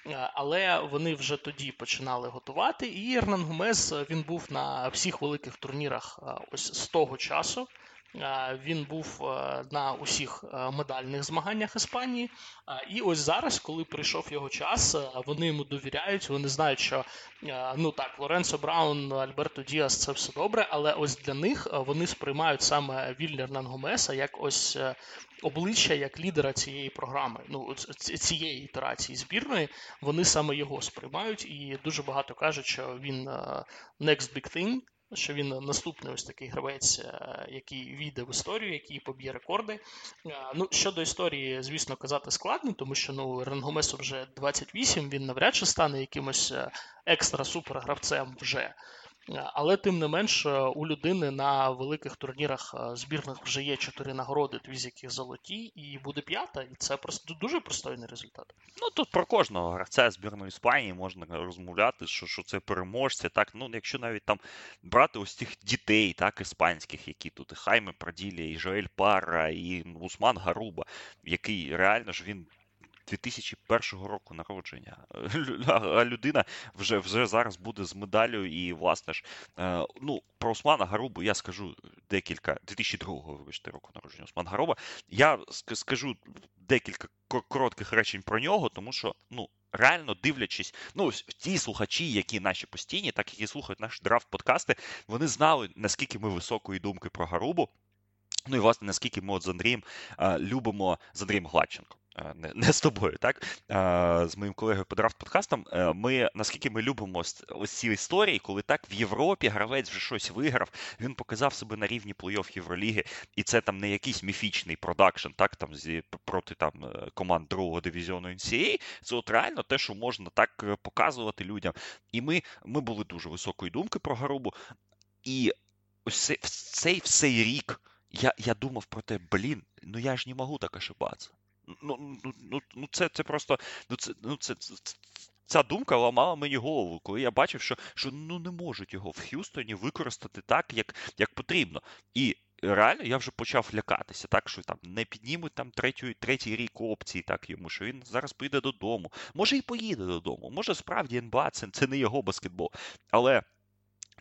Але вони вже тоді починали готувати, і Ернан Гомес, він був на всіх великих турнірах ось з того часу. Він був на усіх медальних змаганнях Іспанії. І ось зараз, коли прийшов його час, вони йому довіряють, вони знають, що, ну так, Лоренцо Браун, Альберто Діас – це все добре, але ось для них вони сприймають саме Віллі Ернан Гомеса як ось обличчя, як лідера цієї програми, ну, цієї ітерації збірної, вони саме його сприймають, і дуже багато кажуть, що він next big thing, що він наступний ось такий гравець, який війде в історію, який поб'є рекорди. Ну, щодо історії, звісно, казати складно, тому що, ну, Ернан Гомесу вже двадцять вісім, він навряд чи стане якимось екстра-супер-гравцем вже. Але, тим не менш, у людини на великих турнірах збірних вже є чотири нагороди, дві з яких золоті, і буде п'ята, і це просто дуже пристойний результат. Ну, тут про кожного гравця збірної Іспанії можна розмовляти, що, що це переможці, так, ну, якщо навіть там брати ось цих дітей, так, іспанських, які тут, і Хайме Праділля, і Жоель Парра, і Усман Гаруба, який реально ж він дві тисячі першого року народження. А людина вже, вже зараз буде з медаллю і, власне ж, е, ну, про Усмана Гарубу я скажу декілька, дві тисячі другого, вибачте, року народження Усман Гаруба, я скажу декілька коротких речень про нього, тому що, ну, реально дивлячись, ну, ті слухачі, які наші постійні, так які слухають наші драфт-подкасти, вони знали, наскільки ми високої думки про Гарубу, ну і, власне, наскільки ми от з Андрієм а, любимо, з Андрієм Гладченко, а, не, не з тобою, так, а, з моїм колегою по драфт-подкастам, ми, наскільки ми любимо ось, ось ці історії, коли так в Європі гравець вже щось виграв, він показав себе на рівні плей-офф Євроліги, і це там не якийсь міфічний продакшн, так, там, зі, проти там команд другого дивізіону ен сі ей ей, це от реально те, що можна так показувати людям. І ми, ми були дуже високої думки про Гарубу, і ось цей, цей, цей рік Я, я думав про те, блін, ну я ж не можу так ошибатися. Ну, ну, ну, ну це, це просто, ну це, ну це, це, ця думка ламала мені голову, коли я бачив, що, що ну не можуть його в Х'юстоні використати так, як, як потрібно. І реально я вже почав лякатися, так, що там не піднімуть там третій, третій рік опції так йому, що він зараз поїде додому. Може і поїде додому, може справді ен ба а це, це не його баскетбол. Але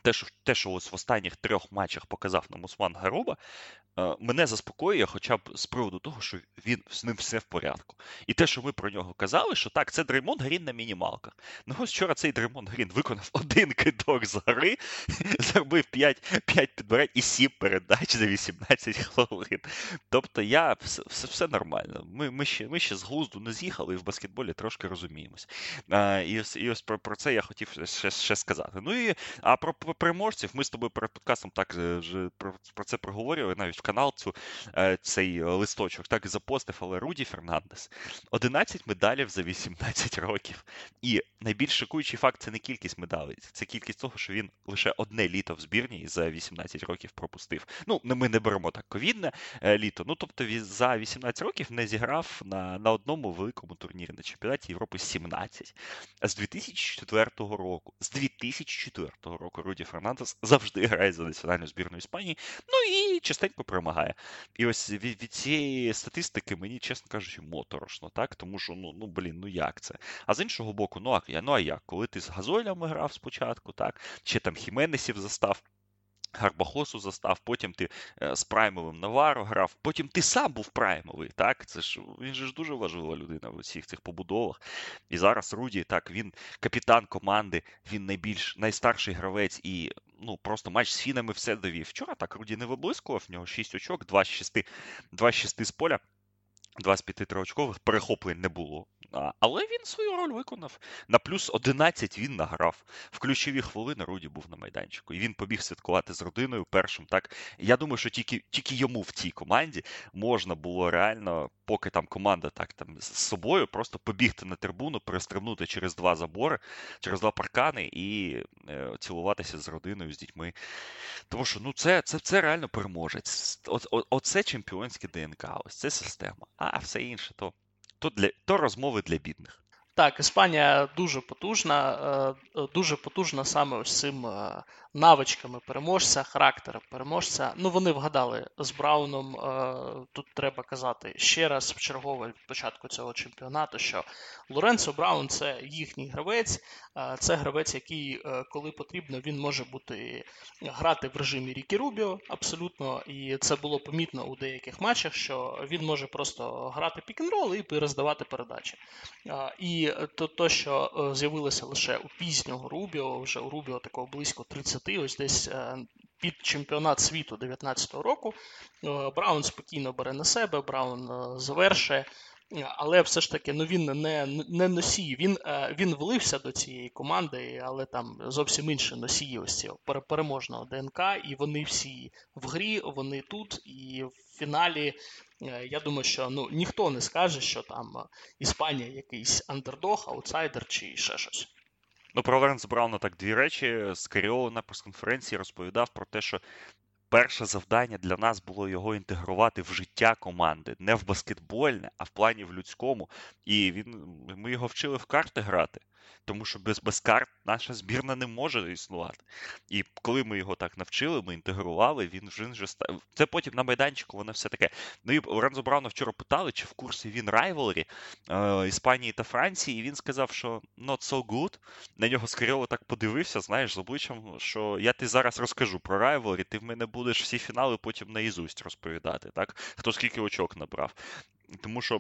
те, що, те, що ось в останніх трьох матчах показав нам Усман Гаруба, е, мене заспокоює хоча б з приводу того, що він з ним все в порядку. І те, що ми про нього казали, що так, це Дреймонд Грін на мінімалках. Ну ось вчора цей Дреймонд Грін виконав один кидок з гори, зробив п'ять підбирань і сім передач за вісімнадцять хвилин. Тобто я все, все, все нормально. Ми, ми, ще, ми ще з глузду не з'їхали і в баскетболі трошки розуміємось. А, і ось, і ось про, про це я хотів ще, ще сказати. Ну і а про, про переможців ми з тобою перед подкастом так вже про, про це проговорювали, навіть в канал цю, цей листочок так і запостив, але Руді Фернандес. одинадцять медалів за вісімнадцять років. І найбільш шокуючий факт – це не кількість медалей, це кількість того, що він лише одне літо в збірні за вісімнадцять років пропустив. Ну, ми не беремо так ковідне літо, ну, тобто за вісімнадцять років не зіграв на, на одному великому турнірі на чемпіонаті Європи сімнадцять. А з дві тисячі четвертого року, з дві тисячі четвертого року Руді Фернандес завжди грає за національну збірну Іспанії, ну і частенько перемагає. І ось від, від цієї статистики мені, чесно кажучи, моторошно, так? Тому що, ну, ну блін, ну як це? А з іншого боку, ну а, ну, а як? Коли ти з Газолями грав спочатку, так? Чи там Хіменесів застав, Гарбахосу застав, потім ти е, з праймовим Наваро грав, потім ти сам був праймовий, так? Це ж, він же ж дуже важлива людина в усіх цих побудовах. І зараз Руді, так, він капітан команди, він найбільш, найстарший гравець і, ну, просто матч з фінами все довів. Вчора так Руді не виблискував, в нього шість очок, два з шести, два з шести з поля. Два з п'яти триочкових перехоплень не було. А, але він свою роль виконав. На плюс одинадцять він награв. В ключові хвилини Руді був на майданчику. І він побіг святкувати з родиною першим. Так, я думаю, що тільки, тільки йому в цій команді можна було реально, поки там команда так там з собою, просто побігти на трибуну, перестрибнути через два забори, через два паркани і е, цілуватися з родиною, з дітьми. Тому що ну це, це, це реально переможець. О, о, оце чемпіонське ДНК, ось це система. А все інше, то, то, для, то розмови для бідних. Так, Іспанія дуже потужна, е, дуже потужна саме ось цим е, навичками переможця, характером переможця. Ну, вони вгадали з Брауном, е, тут треба казати ще раз в чергове від початку цього чемпіонату, що Лоренцо Браун – це їхній гравець, е, це гравець, який, е, коли потрібно, він може бути грати в режимі Рікі Рубіо, абсолютно, і це було помітно у деяких матчах, що він може просто грати пік-н-рол і роздавати передачі. Е, і то, то, що е, з'явилося лише у пізнього Рубіо, вже у Рубіо такого близько тридцять, ось десь е, під чемпіонат світу дев'ятнадцятого року, е, Браун спокійно бере на себе, Браун е, завершує, але все ж таки ну, він не, не носій, він, е, він влився до цієї команди, але там зовсім інші носії ось цього переможного ДНК, і вони всі в грі, вони тут, і в фіналі я думаю, що ну, ніхто не скаже, що там Іспанія якийсь андердог, аутсайдер чи ще щось. Ну, про Лоренцо Брауна так дві речі. Скаріоло на прес-конференції розповідав про те, що перше завдання для нас було його інтегрувати в життя команди. Не в баскетбольне, а в плані в людському. І він, ми його вчили в карти грати. Тому що без, без карт наша збірна не може існувати. І коли ми його так навчили, ми інтегрували, він вже, вже став. Це потім на майданчику, воно все таке. Ну і Лоренцо Брауна вчора питали, чи в курсі він райвелрі е, Іспанії та Франції, і він сказав, що not so good. На нього Скаріоло так подивився, знаєш, з обличчям, що я ти зараз розкажу про райвелрі, ти в мене будеш всі фінали потім наізусть розповідати, так? Хто скільки очок набрав. Тому що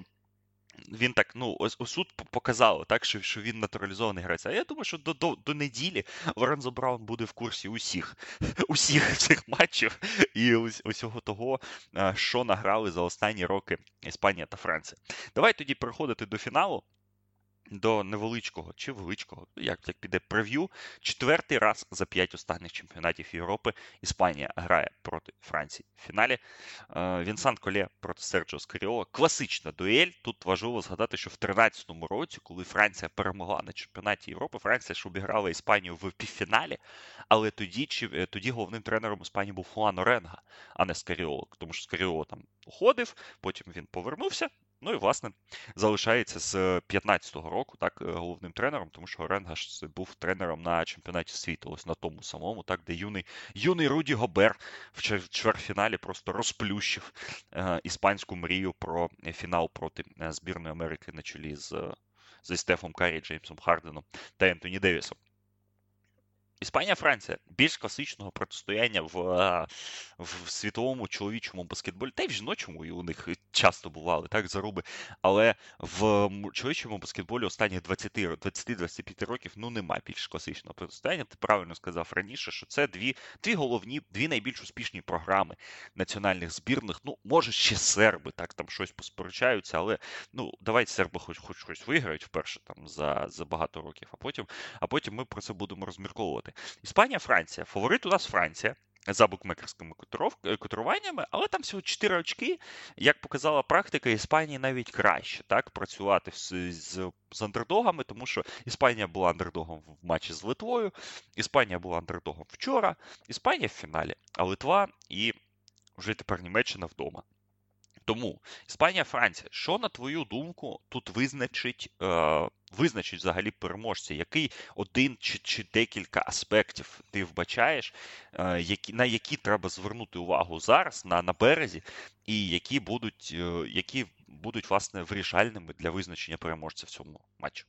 він так, ну, ось у суд показало, так, що, що він натуралізований гравець. А я думаю, що до, до, до неділі Лоренцо Браун буде в курсі усіх, усіх цих матчів і ус, усього того, що награли за останні роки Іспанія та Франція. Давай тоді переходити до фіналу. До невеличкого чи величкого, як, як піде прев'ю. Четвертий раз за п'ять останніх чемпіонатів Європи Іспанія грає проти Франції в фіналі. Вінсан Коле проти Серджіо Скаріоло. Класична дуель. Тут важливо згадати, що в тринадцятому році, коли Франція перемогла на чемпіонаті Європи, Франція ж обіграла Іспанію в півфіналі, але тоді, чи, тоді головним тренером Іспанії був Хуан Оренга, а не Скаріоло. Тому що Скаріоло там уходив, потім він повернувся. Ну і, власне, залишається з п'ятнадцятого року, так, головним тренером, тому що Оренга ж був тренером на чемпіонаті світу, ось на тому самому, так, де юний, юний Руді Гобер в чвертьфіналі просто розплющив е, іспанську мрію про фінал проти збірної Америки на чолі з, з Стефом Карі, Джеймсом Харденом та Ентоні Девісом. Іспанія-Франція більш класичного протистояння в, е, в світовому чоловічому баскетболі, та й в жіночому, і у них часто бували так заруби. Але в м- чоловічому баскетболі останніх двадцять-двадцять п'ять років ну нема більш класичного протистояння. Ти правильно сказав раніше, що це дві, дві головні, дві найбільш успішні програми національних збірних. Ну, може, ще серби так там щось посперечаються, але ну давайте серби хоч хоч щось виграють вперше там за, за багато років, а потім, а потім ми про це будемо розмірковувати. Іспанія, Франція. Фаворит у нас Франція за букмекерськими котиров- котируваннями, але там всього чотири очки. Як показала практика, Іспанії навіть краще так працювати з, з, з андердогами, тому що Іспанія була андердогом в матчі з Литвою, Іспанія була андердогом вчора, Іспанія в фіналі, а Литва і вже тепер Німеччина вдома. Тому Іспанія-Франція, що на твою думку тут визначить, е, визначить взагалі переможця? Який один чи, чи декілька аспектів ти вбачаєш, е, які, на які треба звернути увагу зараз на, на березі, і які будуть, е, які будуть власне вирішальними для визначення переможця в цьому матчі?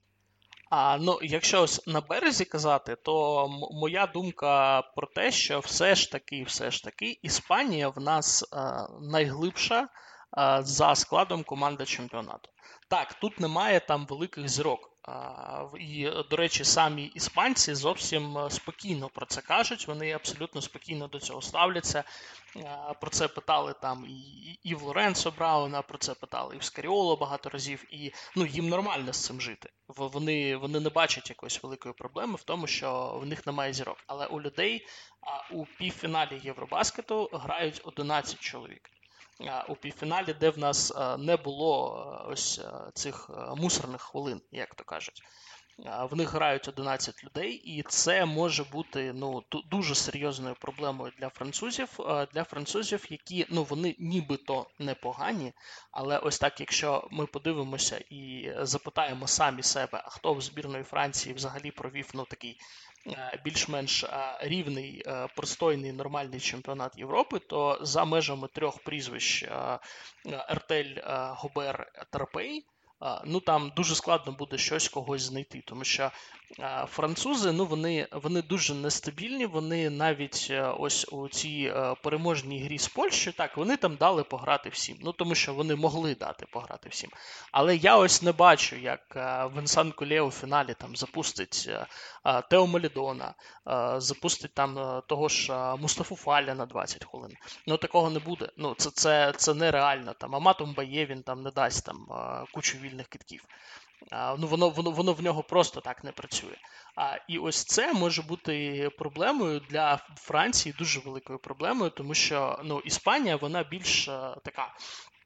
А ну, якщо ось на березі казати, то м- моя думка про те, що все ж таки, все ж таки, Іспанія в нас е, найглибша е, за складом команда чемпіонату. Так, тут немає там великих зірок. А, в- і, до речі, самі іспанці зовсім е, спокійно про це кажуть. Вони абсолютно спокійно до цього ставляться. Е, Про це питали там і, і в Лоренцо Брауна, про це питали і в Скаріоло багато разів. І ну, їм нормально з цим жити. В- Вони, вони не бачать якоїсь великої проблеми в тому, що в них немає зірок. Але у людей а, у півфіналі Євробаскету грають одинадцять чоловік. А, У півфіналі, де в нас а, не було а, ось а, цих а, мусорних хвилин, як то кажуть. А, В них грають одинадцять людей, і це може бути ну ду- дуже серйозною проблемою для французів. а, Для французів, які ну вони нібито непогані, але ось так, якщо ми подивимося і запитаємо самі себе, а хто в збірної Франції взагалі провів ну такий е, більш-менш е, рівний, е, пристойний, нормальний чемпіонат Європи, то за межами трьох прізвищ е, е, Ертель, е, Гобер, Тарпей. А, Ну там дуже складно буде щось когось знайти, тому що а, французи, ну вони вони дуже нестабільні. Вони навіть е, ось у цій е, переможній грі з Польщею, так вони там дали пограти всім. Ну тому що вони могли дати пограти всім. Але я ось не бачу, як е, Венсан Колє у фіналі там запустить е, е, Тео Молідона, е, запустить там е, того ж е, Мустафу Фаля на двадцять хвилин. Ну такого не буде. Ну це це, це нереально. Там Аматом Бає він там не дасть там е, кучу вільних китків. А, ну воно воно воно в нього просто так не працює. А і ось це може бути проблемою для Франції, дуже великою проблемою, тому що ну Іспанія вона більш е, така.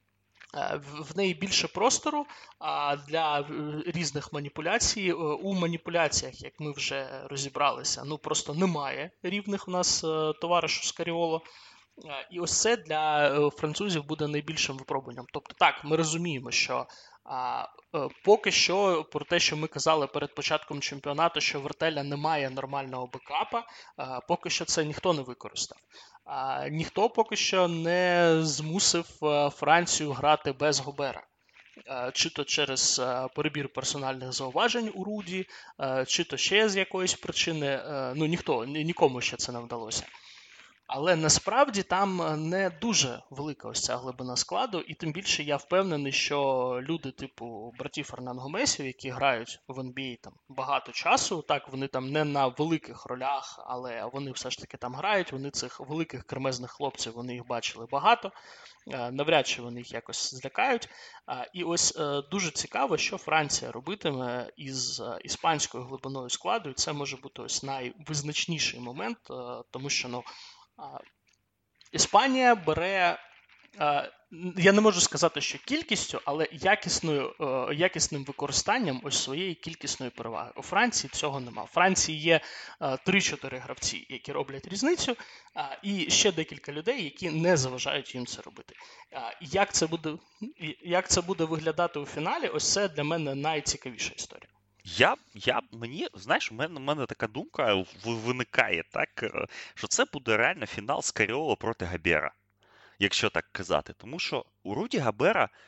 е, В в неї більше простору а, для е, різних маніпуляцій. Е, У маніпуляціях, як ми вже розібралися, ну просто немає рівних в нас е, товаришу Скаріоло. Е, І ось це для е, французів буде найбільшим випробуванням. Тобто, так, ми розуміємо, що а, е, поки що про те, що ми казали перед початком чемпіонату, що в Вертеля немає нормального бекапа, а, поки що це ніхто не використав. А, ніхто поки що не змусив е, Францію грати без Гобера. Е, Чи то через е, перебір персональних зауважень у Руді, е, чи то ще з якоїсь причини. Е, Ну ніхто ні- нікому ще це не вдалося. Але насправді там е, не дуже велика ось ця глибина складу, і тим більше я впевнений, що люди типу братів Фернан-Гомесів, які грають в ен бі ей там багато часу, так вони там не на великих ролях, але вони все ж таки там грають. Вони цих великих кремезних хлопців, вони їх бачили багато. Е, Навряд чи вони їх якось злякають. А, І ось е, дуже цікаво, що Франція робитиме із е, іспанською глибиною складу, і це може бути ось найвизначніший момент, е, тому що ну. а, Іспанія бере, е, я не можу сказати, що кількістю, але якісною, е, якісним використанням ось своєї кількісної переваги. У Франції цього нема. У Франції є е, три-чотири гравці, які роблять різницю, е, і ще декілька людей, які не заважають їм це робити. Е, Як це буде, як це буде виглядати у фіналі, ось це для мене найцікавіша історія. Я, я мені, знаєш, у мене, у мене така думка в- виникає, так, е, що це буде реально фінал Скаріоло проти Габера, якщо так казати. Тому що у Руді Габера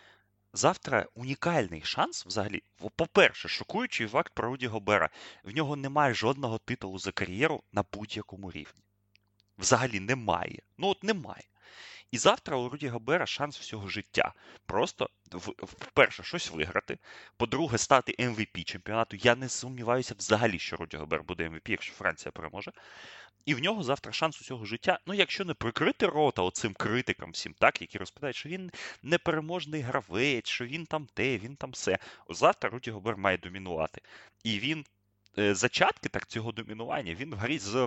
Завтра унікальний шанс взагалі. По-перше, шокуючий факт про Руді Гобера. В нього немає жодного титулу за кар'єру на будь-якому рівні. Взагалі немає. Ну от немає. І завтра у Руді Гобера шанс всього життя. Просто, вперше, щось виграти. По-друге, стати ем ві пі чемпіонату. Я не сумніваюся взагалі, що Руді Гобер буде ем ві пі, якщо Франція переможе. І в нього завтра шанс усього життя, ну якщо не прикрити рота оцим критикам всім, так, які розповідають, що він непереможний гравець, що він там те, він там все. Завтра Руді Гобер має домінувати. І він, е, зачатки так цього домінування, він в грі з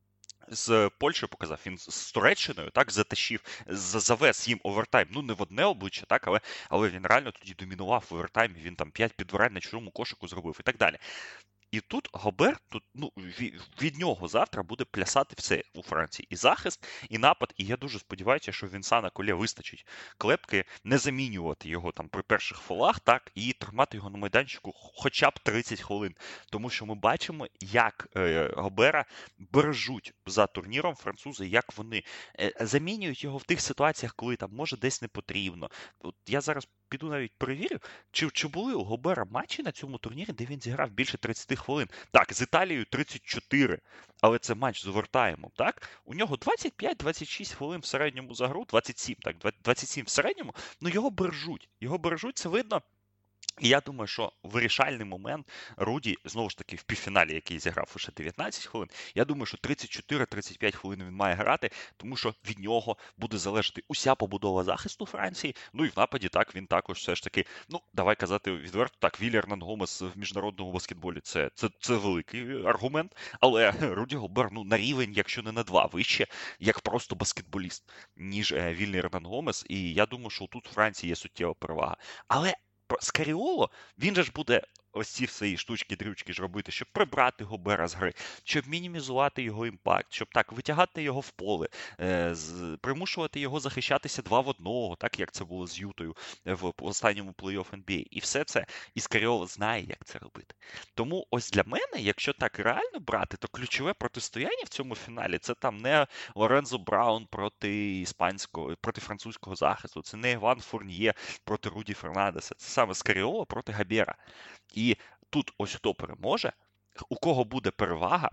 з Польщею показав, він з Туреччиною так затащив, завез їм овертайм. Ну не в одне обличчя, так, але, але він реально тоді домінував в овертаймі, він там п'ять підбирань на чужому кошику зробив і так далі. І тут Гобер, тут, ну, від, від нього завтра буде плясати все у Франції. І захист, і напад. І я дуже сподіваюся, що Вінсана Колє вистачить клепки, не замінювати його там при перших фолах, так, і тримати його на майданчику хоча б тридцять хвилин. Тому що ми бачимо, як е, Гобера бережуть за турніром французи, як вони е, замінюють його в тих ситуаціях, коли там може десь не потрібно. От я зараз піду навіть перевірю, чи, чи були у Гобера матчі на цьому турнірі, де він зіграв більше тридцять хвилин. Так, з Італією тридцять чотири, але це матч з овертаймом, так? У нього двадцять п'ять двадцять шість хвилин в середньому за гру, двадцять сім, так, двадцять сім в середньому, ну його бережуть. Його бережуть, це видно. І я думаю, що вирішальний момент Руді, знову ж таки, в півфіналі, який зіграв лише дев'ятнадцять хвилин, я думаю, що тридцять чотири тридцять п'ять хвилин він має грати, тому що від нього буде залежати уся побудова захисту Франції. Ну і в нападі, так, він також все ж таки, ну, давай казати відверто, так, Віллі Ернан Гомес в міжнародному баскетболі це, це, це великий аргумент, але Руді Гобер, ну, на рівень, якщо не на два, вище, як просто баскетболіст, ніж Віллі Ернан Гомес, і я думаю, що тут у Франції є суттєва перевага. Але Скаріоло, він же ж буде ось ці свої штучки-дрючки ж робити, щоб прибрати Гобера з гри, щоб мінімізувати його імпакт, щоб так витягати його в поле, е, з, примушувати його захищатися два в одного, так як це було з Ютою в останньому плей-офф ен бі ей. І все це, і Скаріоло знає, як це робити. Тому ось для мене, якщо так реально брати, то ключове протистояння в цьому фіналі це там не Лорензо Браун проти іспанського, проти французького захисту, це не Іван Фурньє проти Руді Фернандеса, це саме Скаріоло проти Гобера. І тут ось хто переможе, у кого буде перевага,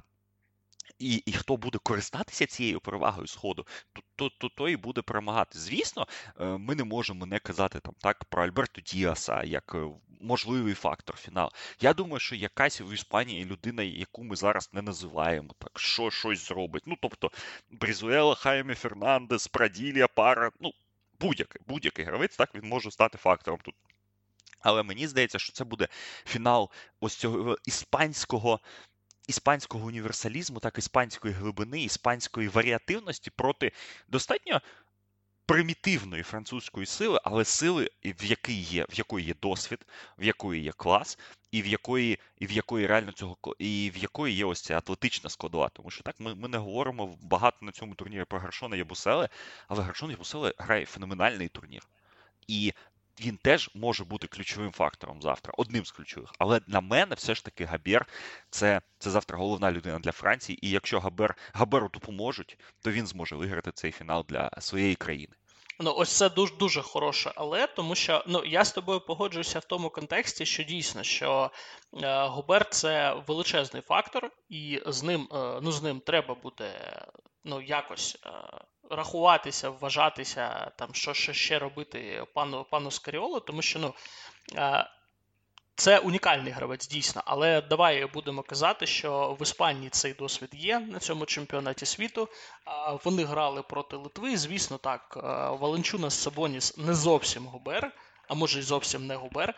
і і хто буде користатися цією перевагою сходу, то, то, то, то і буде перемагати. Звісно, ми не можемо не казати там так про Альберто Діаса як можливий фактор фіналу. Я думаю, що якась в Іспанії людина, яку ми зараз не називаємо, так що щось зробить. Ну, тобто, Брізуела, Хаймі Фернандес, Праділія, Пара, ну, будь-який, будь-який гравець, так, він може стати фактором тут. Але мені здається, що це буде фінал ось цього іспанського, іспанського універсалізму, так іспанської глибини, іспанської варіативності проти достатньо примітивної французької сили, але сили, в якій є, в якої є досвід, в якої є клас, і в якої, і в якої реально цього і в якої є ось ця атлетична складова. Тому що так ми, ми не говоримо багато на цьому турнірі про Гаршона Ябуселе, але Гаршон Ябуселе грає феноменальний турнір. І він теж може бути ключовим фактором завтра, одним з ключових. Але на мене все ж таки Гобер це, це завтра головна людина для Франції. І якщо Гобер, Гоберу допоможуть, то він зможе виграти цей фінал для своєї країни. Ну, ось це дуже дуже хороше, але тому що ну я з тобою погоджуюся в тому контексті, що дійсно, що е, Гобер це величезний фактор, і з ним е, ну з ним треба буде ну якось е, рахуватися, вважатися, там що, що ще робити пану пану Скаріоло, тому що ну. Е, Це унікальний гравець, дійсно, але давай будемо казати, що в Іспанії цей досвід є на цьому чемпіонаті світу. Вони грали проти Литви, звісно, так, Валенчунас Сабоніс не зовсім Гобер, а може й зовсім не Гобер,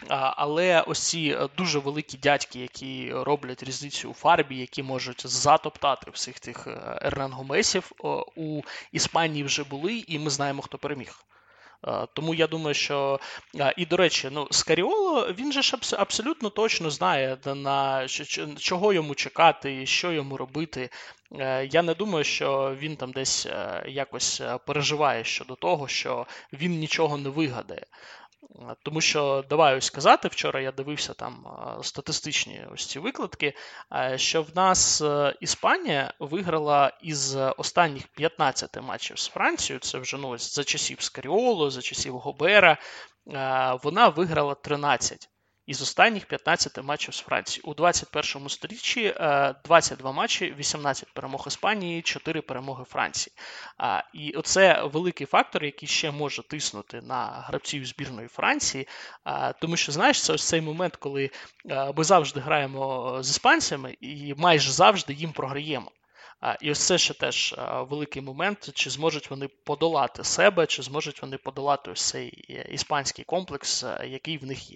але ось ці дуже великі дядьки, які роблять різницю у фарбі, які можуть затоптати всіх тих Ернан Гомесів, у Іспанії вже були, і ми знаємо, хто переміг. Тому я думаю, що, і до речі, ну, Скаріоло, він же ж абсолютно точно знає, на чого йому чекати, що йому робити. Я не думаю, що він там десь якось переживає щодо того, що він нічого не вигадає. Тому що, давай ось сказати, вчора я дивився там статистичні ось ці викладки, що в нас Іспанія виграла із останніх п'ятнадцяти матчів з Францією, це вже ну, ось за часів Скаріоло, за часів Гобера, вона виграла тринадцять із останніх п'ятнадцяти матчів з Францією. У двадцять першому сторіччі двадцять два матчі, вісімнадцять перемог Іспанії, чотири перемоги Франції. І оце великий фактор, який ще може тиснути на гравців збірної Франції, тому що, знаєш, це ось цей момент, коли ми завжди граємо з іспанцями і майже завжди їм програємо. І ось це ще теж великий момент, чи зможуть вони подолати себе, чи зможуть вони подолати ось цей іспанський комплекс, який в них є.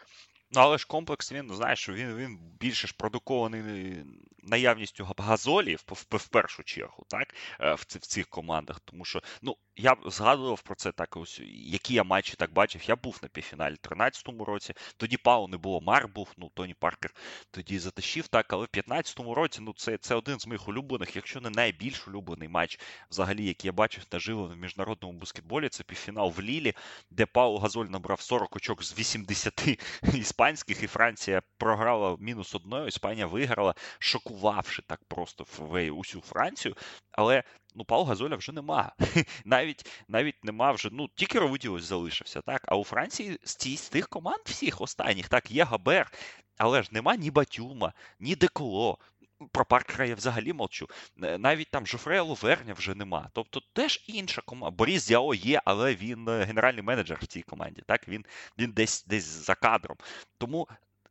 Ну, але ж комплекс, він, знаєш, він, він більше ж продукований наявністю газолів, в, в першу чергу, так, в, в цих командах. Тому що, ну, я згадував про це так, ось, які я матчі так бачив. Я був на півфіналі в тринадцятому році, тоді Пау не було, Мар був, ну, Тоні Паркер тоді затащив, так, але в п'ятнадцятому році, ну, це, це один з моїх улюблених, якщо не найбільш улюблений матч, взагалі, який я бачив наживо в міжнародному баскетболі, це півфінал в Лілі, де Пау Газоль набрав сорок очок з вісімдесяти іспанських, і Франція програла мінус одною, Іспанія виграла, шокувавши так просто усю Францію, але ну, Пау Газоля вже нема. Навіть навіть нема вже, ну, тільки Ровидіус залишився, так, а у Франції з, ті, з тих команд всіх останніх, так, є Габер, але ж нема ні Батюма, ні Деколо, про Паркера я взагалі мовчу. Навіть там Жофрея Ловерня вже нема. Тобто теж інша команда. Борис Діао є, але він генеральний менеджер в цій команді. Так? Він, він десь, десь за кадром. Тому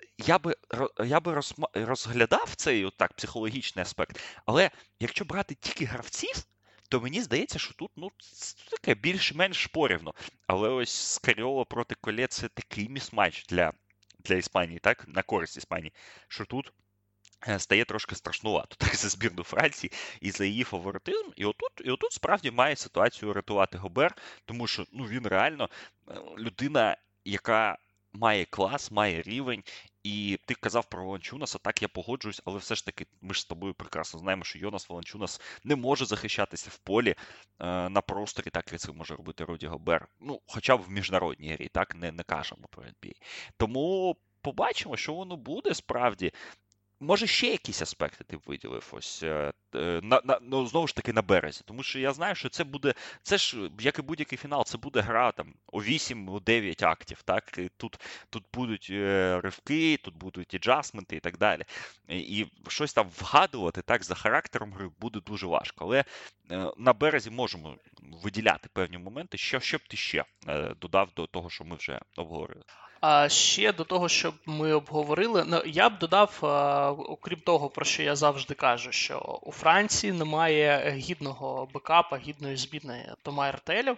я би, я би розглядав цей отак, психологічний аспект. Але якщо брати тільки гравців, то мені здається, що тут ну, таке більш-менш порівно. Але ось Скаріоло проти Коле – це такий місматч для, для Іспанії, так? На користь Іспанії, що тут стає трошки страшнувато так за збірну Франції і за її фаворитизм. І отут, і отут справді має ситуацію рятувати Гобер, тому що ну, він реально людина, яка має клас, має рівень. І ти казав про Воланчунаса, так, я погоджуюсь, але все ж таки ми ж з тобою прекрасно знаємо, що Йонас Воланчунас не може захищатися в полі е, на просторі, так як це може робити Руді Гобер. Ну, хоча б в міжнародній грі, так, не, не кажемо про ен бі ей. Тому побачимо, що воно буде справді. Може, ще якісь аспекти ти б виділив ось на, на, ну, знову ж таки на березі, тому що я знаю, що це буде, це ж, як і будь-який фінал, це буде гра там о вісім-дев'ять актів, так, і тут, тут будуть е, ривки, тут будуть іджасменти і так далі, і, і щось там вгадувати, так, за характером гри буде дуже важко, але е, на березі можемо виділяти певні моменти, що, що б ти ще е, додав до того, що ми вже обговорили. А ще до того, що ми обговорили, ну, я б додав, окрім того, про що я завжди кажу, що у Франції немає гідного бекапа, гідної збірної Тома Ертелю,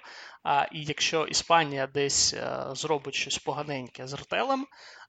і якщо Іспанія десь зробить щось поганеньке з Ертелем,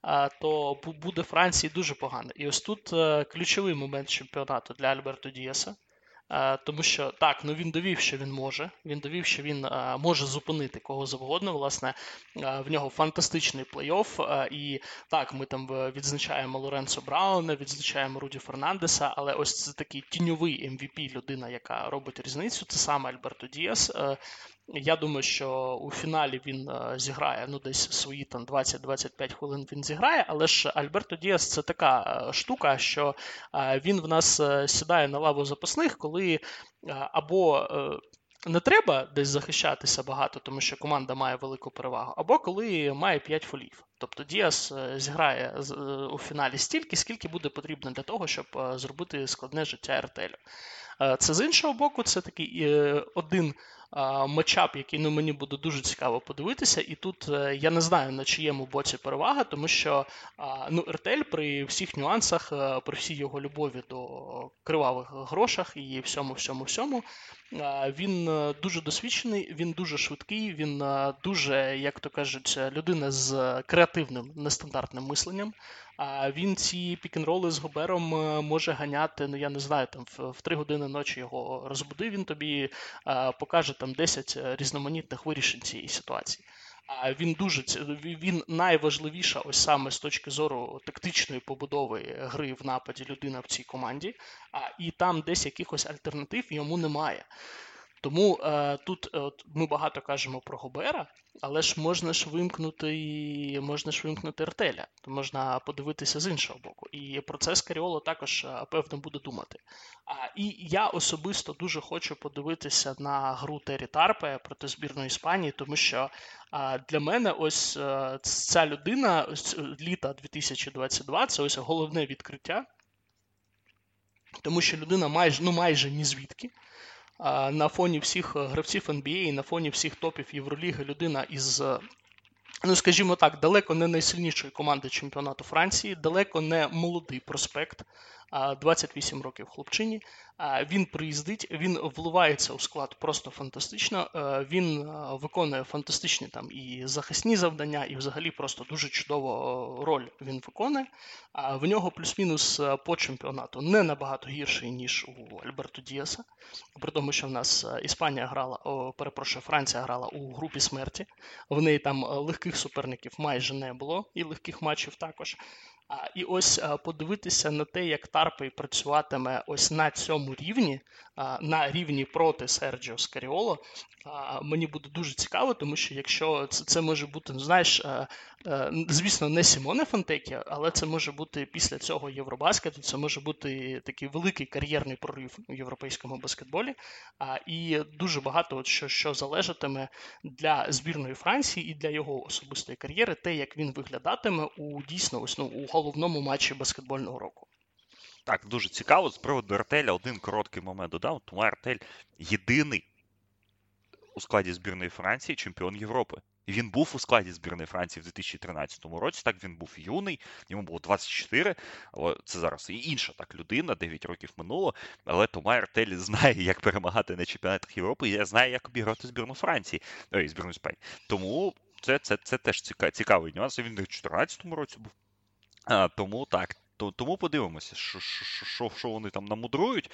то буде Франції дуже погано. І ось тут ключовий момент чемпіонату для Альберто Діаса. Тому що, так, ну він довів, що він може. Він довів, що він а, може зупинити кого завгодно. Власне, а, в нього фантастичний плей-офф. А, і так, ми там відзначаємо Лоренцо Брауна, відзначаємо Руді Фернандеса, але ось це такий тіньовий ем ві пі, людина, яка робить різницю. Це саме Альберто Діас. А, я думаю, що у фіналі він а, зіграє, ну, десь свої там двадцять-двадцять п'ять хвилин він зіграє, але ж Альберто Діас – це така а, штука, що а, він в нас а, сідає на лаву запасних, коли а, або а, не треба десь захищатися багато, тому що команда має велику перевагу, або коли має п'ять фолів. Тобто Діас зіграє у фіналі стільки, скільки буде потрібно для того, щоб зробити складне життя Ертелю. Це з іншого боку, це такий один матчап, який ну, мені буде дуже цікаво подивитися, і тут я не знаю, на чиєму боці перевага, тому що ну, Ертель при всіх нюансах, при всій його любові до кривавих грошах і всьому-всьому-всьому, він дуже досвідчений, він дуже швидкий, він дуже, як то кажуть, людина з креативним, нестандартним мисленням. Він ці пік-н-роли з Гобером може ганяти, ну я не знаю, там в три години ночі його розбуди, він тобі покаже там десять різноманітних вирішень цієї ситуації. Він дуже він найважливіша ось саме з точки зору тактичної побудови гри в нападі людина в цій команді, і там десь якихось альтернатив йому немає. Тому е, тут е, от, ми багато кажемо про Гобера, але ж можна ж вимкнути і можна ж вимкнути Артеля, то можна подивитися з іншого боку. І про це Скаріоло також, е, певно, буде думати. А, і я особисто дуже хочу подивитися на гру Террі Тарпе проти збірної Іспанії, тому що а, для мене ось е, ця людина, ось е, літа дві тисячі двадцять два, це ось головне відкриття, тому що людина майже, ну майже ні звідки. А, на фоні всіх гравців ен бі ей, на фоні всіх топів Євроліги людина із, ну скажімо так, далеко не найсильнішої команди чемпіонату Франції, далеко не молодий проспект, а, двадцять вісім років хлопчині. А, Він приїздить, він вливається у склад просто фантастично, е, він е, виконує фантастичні там і захисні завдання, і взагалі просто дуже чудову е, роль він виконує. А в нього плюс-мінус е, по чемпіонату не набагато гірший, ніж у Альберто Діаса, при тому, що в нас е, Іспанія грала, о, перепрошую, Франція грала у групі смерті, в неї там е, легких суперників майже не було, і легких матчів також. А, І ось а, подивитися на те, як Тарпей працюватиме ось на цьому рівні, а, на рівні проти Серджіо Скаріоло, а, мені буде дуже цікаво, тому що якщо це, це може бути, знаєш, а, а, звісно, не Сімоне Фонтекі, але це може бути після цього Євробаскету, це може бути такий великий кар'єрний прорив у європейському баскетболі, а, і дуже багато от що, що залежатиме для збірної Франції і для його особистої кар'єри, те, як він виглядатиме у дійсно ось, ну, у головному матчі баскетбольного року. Так, дуже цікаво. З приводу Артеля один короткий момент додав. Тому Артель єдиний у складі збірної Франції чемпіон Європи. І він був у складі збірної Франції в дві тисячі тринадцятому році. Так, він був юний, йому було двадцять чотири, але це зараз і інша так людина, дев'ять років минуло. Але Тома Артель знає, як перемагати на чемпіонатах Європи, і знає, як обіграти збірну Франції, ой, збірну Іспанії. Тому це, це, це теж цікавий нюанс. Він в дві тисячі чотирнадцятому році був. А, тому так, то, тому подивимося, що, що, що вони там намудрують.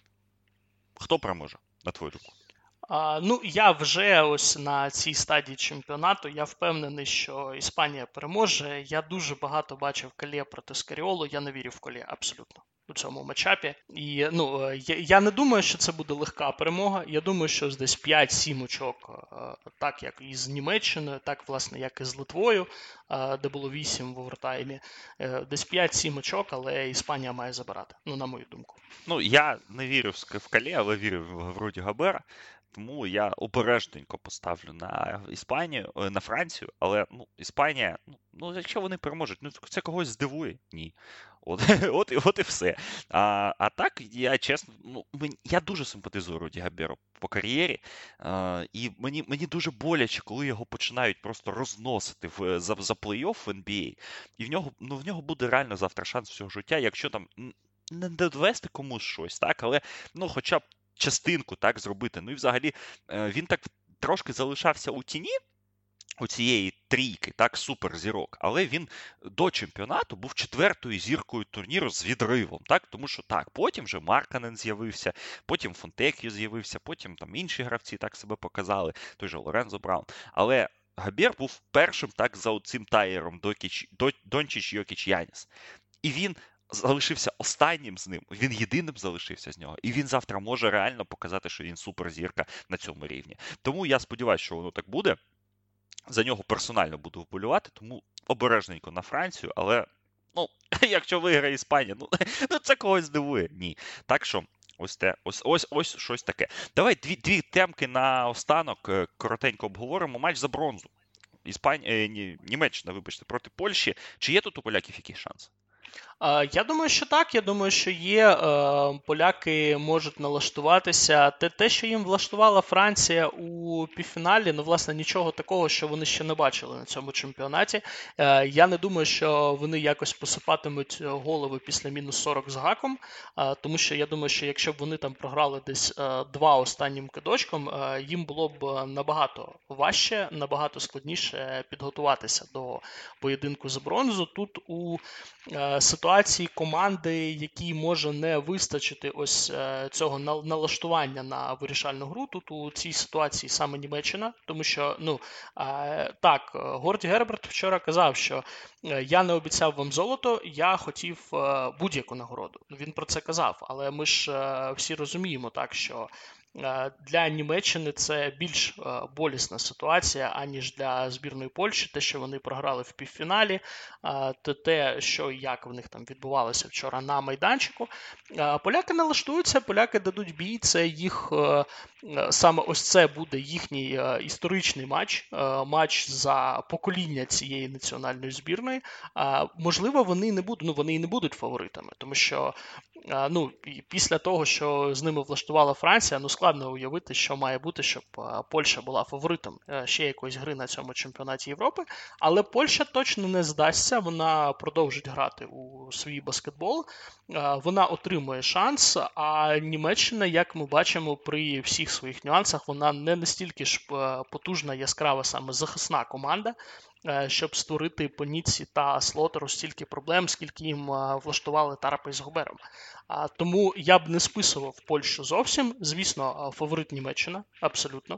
Хто переможе, на твою думку? А, ну, я вже ось на цій стадії чемпіонату, я впевнений, що Іспанія переможе. Я дуже багато бачив Колє проти Скаріоло, я не вірю в Колє абсолютно у цьому матчапі. І, ну, я, я не думаю, що це буде легка перемога. Я думаю, що десь п'ять-сім очок, так як і з Німеччиною, так, власне, як і з Литвою, де було вісім в овертаймі. Десь п'ять-сім очок, але Іспанія має забирати, ну, на мою думку. Ну, я не вірю в Колє, але вірю в Руді Гобера. Тому я обережненько поставлю на Іспанію, на Францію, але ну, Іспанія, ну, якщо вони переможуть, ну, це когось здивує? Ні. От, от, от і все. А, а так, я чесно, ну, мені, я дуже симпатизую Руді Гоберу по кар'єрі, а, і мені, мені дуже боляче, коли його починають просто розносити в, за, за плей-офф в ен бі ей, і в нього, ну, в нього буде реально завтра шанс всього життя, якщо там не довести комусь щось, так, але, ну, хоча б частинку так зробити. Ну і взагалі він так трошки залишався у тіні у цієї трійки, так, суперзірок, але він до чемпіонату був четвертою зіркою турніру з відривом, так, тому що так, потім вже Маркканен з'явився, потім Фонтекіо з'явився, потім там інші гравці так себе показали, той же Лорензо Браун, але Гобер був першим так за цим таєром Дончич, Йокіч, Яніс. І він залишився останнім з ним, він єдиним залишився з нього, і він завтра може реально показати, що він суперзірка на цьому рівні. Тому я сподіваюся, що воно так буде. За нього персонально буду вболювати, тому обережненько на Францію, але, ну, якщо виграє Іспанія, ну, ну це когось здивує. Ні. Так що, ось те, ось, ось, ось щось таке. Давай дві, дві темки на останок, коротенько обговоримо. Матч за бронзу. Іспанія, ні, Німеччина, вибачте, проти Польщі. Чи є тут у поляків якісь шанси? Я думаю, що так. Я думаю, що є. Поляки можуть налаштуватися. Те, те, що їм влаштувала Франція у півфіналі, ну, власне, нічого такого, що вони ще не бачили на цьому чемпіонаті. Я не думаю, що вони якось посипатимуть голови після мінус сорок з гаком, тому що я думаю, що якщо б вони там програли десь два останнім кидочком, їм було б набагато важче, набагато складніше підготуватися до поєдинку за бронзу. Тут у ситуації команди, якій може не вистачити ось цього налаштування на вирішальну гру, тут у цій ситуації саме Німеччина, тому що, ну, так, Горді Герберт вчора казав, що я не обіцяв вам золото, я хотів будь-яку нагороду. Він про це казав, але ми ж всі розуміємо так, що Для Німеччини це більш болісна ситуація, аніж для збірної Польщі. Те, що вони програли в півфіналі, то те, що як в них там відбувалося вчора на майданчику. Поляки налаштуються, поляки дадуть бій, це їх, саме ось це буде їхній історичний матч, матч за покоління цієї національної збірної. Можливо, вони не будуть, ну вони і не будуть фаворитами, тому що ну, після того, що з ними влаштувала Франція, ну складно уявити, що має бути, щоб Польща була фаворитом ще якоїсь гри на цьому чемпіонаті Європи. Але Польща точно не здасться, вона продовжить грати у свій баскетбол, вона отримує шанс, а Німеччина, як ми бачимо, при всіх своїх нюансах, вона не настільки ж потужна, яскрава саме захисна команда, щоб створити по Ніцці та Слотеру стільки проблем, скільки їм влаштували Тарапа із Гобером. Тому я б не списував Польщу зовсім. Звісно, фаворит Німеччина, абсолютно.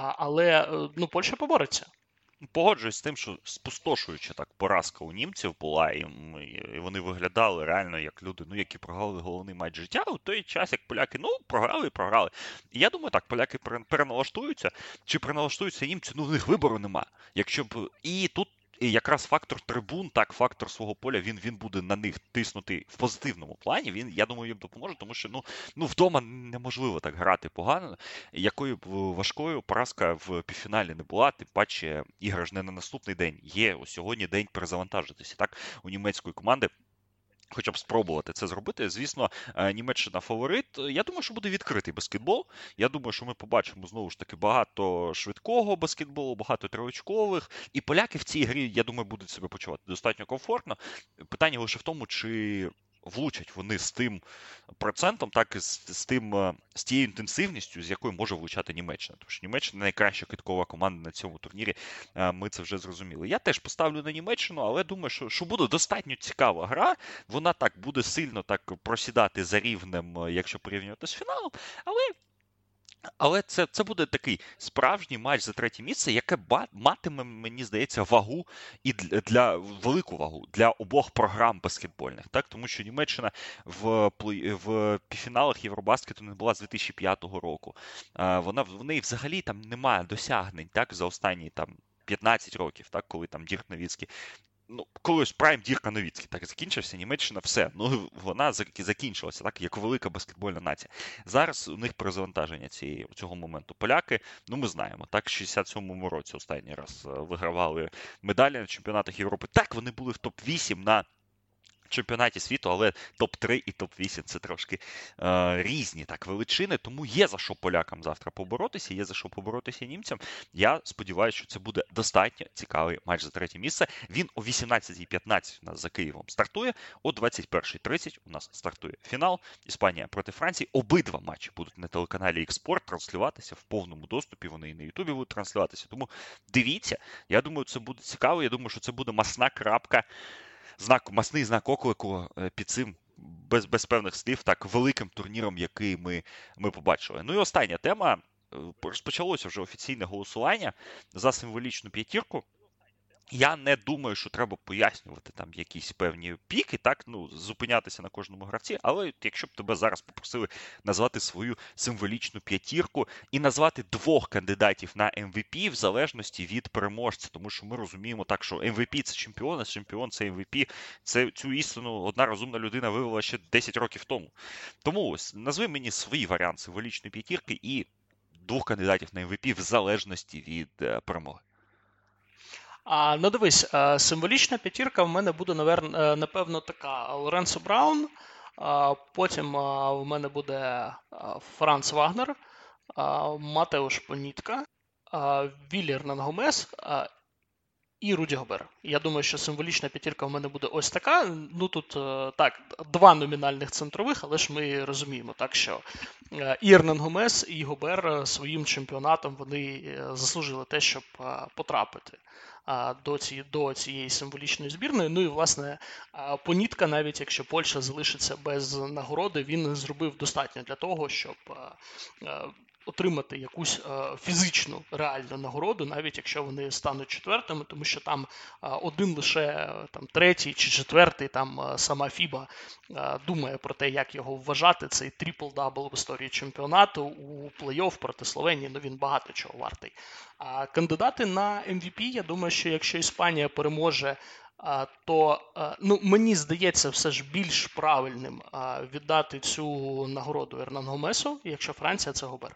Але ну, Польща побореться. Погоджуюсь з тим, що спустошуюча так поразка у німців була, і, і вони виглядали реально як люди, ну, які програли головний матч життя у той час, як поляки, ну, програли і програли. І я думаю, так, поляки переналаштуються, чи переналаштуються німці, ну, в них вибору нема. Якщо б, і тут і якраз фактор трибун, так, фактор свого поля, він, він буде на них тиснути в позитивному плані, він, я думаю, їм допоможе, тому що, ну, ну вдома неможливо так грати погано, якою б важкою поразка в півфіналі не була, тим паче ігра ж не на наступний день, є ось сьогодні день перезавантажитися, так, у німецької команди. Хоча б спробувати це зробити. Звісно, Німеччина фаворит. Я думаю, що буде відкритий баскетбол. Я думаю, що ми побачимо, знову ж таки, багато швидкого баскетболу, багато триочкових. І поляки в цій грі, я думаю, будуть себе почувати достатньо комфортно. Питання лише в тому, чи влучать вони з тим процентом, так і з, з тим, з тією інтенсивністю, з якою може влучати Німеччина. Тому що Німеччина найкраща киткова команда на цьому турнірі, ми це вже зрозуміли. Я теж поставлю на Німеччину, але думаю, що, що буде достатньо цікава гра. Вона так буде сильно так просідати за рівнем, якщо порівнювати з фіналом, але Але це, це буде такий справжній матч за третє місце, яке матиме, мені здається, вагу і для, для велику вагу для обох програм баскетбольних, так? Тому що Німеччина в, в півфіналах Євробаскету не була з дві тисячі п'ятого року. Вона, в неї взагалі там немає досягнень, так, за останні там п'ятнадцять років, так, коли там Дірк Новіцький. Ну, коли ось прайм Дірка Новіцький так закінчився, Німеччина все. Ну, вона закінчилася, так, як велика баскетбольна нація. Зараз у них перезавантаження цієї, цього моменту. Поляки, ну, ми знаємо, так, в шістдесят сьомому році останній раз вигравали медалі на чемпіонатах Європи. Так, вони були в топ вісім на чемпіонаті світу, але топ три і топ вісім це трошки е, різні так величини, тому є за що полякам завтра поборотися, є за що поборотися німцям. Я сподіваюся, що це буде достатньо цікавий матч за третє місце. Він о вісімнадцятій п'ятнадцять у нас за Києвом стартує, о двадцять першій тридцять у нас стартує фінал Іспанія проти Франції. Обидва матчі будуть на телеканалі X-Sport транслюватися в повному доступі, вони і на Ютубі будуть транслюватися, тому дивіться, я думаю, це буде цікаво, я думаю, що це буде масна крапка, знак, масний знак оклику під цим, без, без певних слів, так, великим турніром, який ми, ми побачили. Ну і остання тема. Розпочалося вже офіційне голосування за символічну п'ятірку. Я не думаю, що треба пояснювати там якісь певні піки, так, ну, зупинятися на кожному гравці, але якщо б тебе зараз попросили назвати свою символічну п'ятірку і назвати двох кандидатів на ем ві пі в залежності від переможця, тому що ми розуміємо так, що ем ві пі – це чемпіон, а чемпіон – це ем ві пі, це, цю істину одна розумна людина вивела ще десять років тому. Тому ось, назви мені свій варіант символічної п'ятірки і двох кандидатів на ем ві пі в залежності від е, перемоги. А, ну дивись, символічна п'ятірка в мене буде, напевно, така. Лоренцо Браун, потім в мене буде Франц Вагнер, Матеуш Понітка, Віллі Ернан Гомес і Руді Гобер. Я думаю, що символічна п'ятірка в мене буде ось така. Ну тут, так, два номінальних центрових, але ж ми розуміємо, так, що і Ернан Гомес, і Гобер своїм чемпіонатом вони заслужили те, щоб потрапити до цієї, до цієї символічної збірної. Ну і, власне, Понітка, навіть якщо Польща залишиться без нагороди, він зробив достатньо для того, щоб отримати якусь е, фізичну реальну нагороду, навіть якщо вони стануть четвертими, тому що там е, один лише е, там третій чи четвертий, там е, сама Фіба е, думає про те, як його вважати. Цей трипл-дабл в історії чемпіонату у плей-офф проти Словенії, ну він багато чого вартий. А кандидати на ем ві пі, я думаю, що якщо Іспанія переможе, а, то а, ну, мені здається все ж більш правильним а, віддати цю нагороду Ернан Гомесу, якщо Франція це Гобер.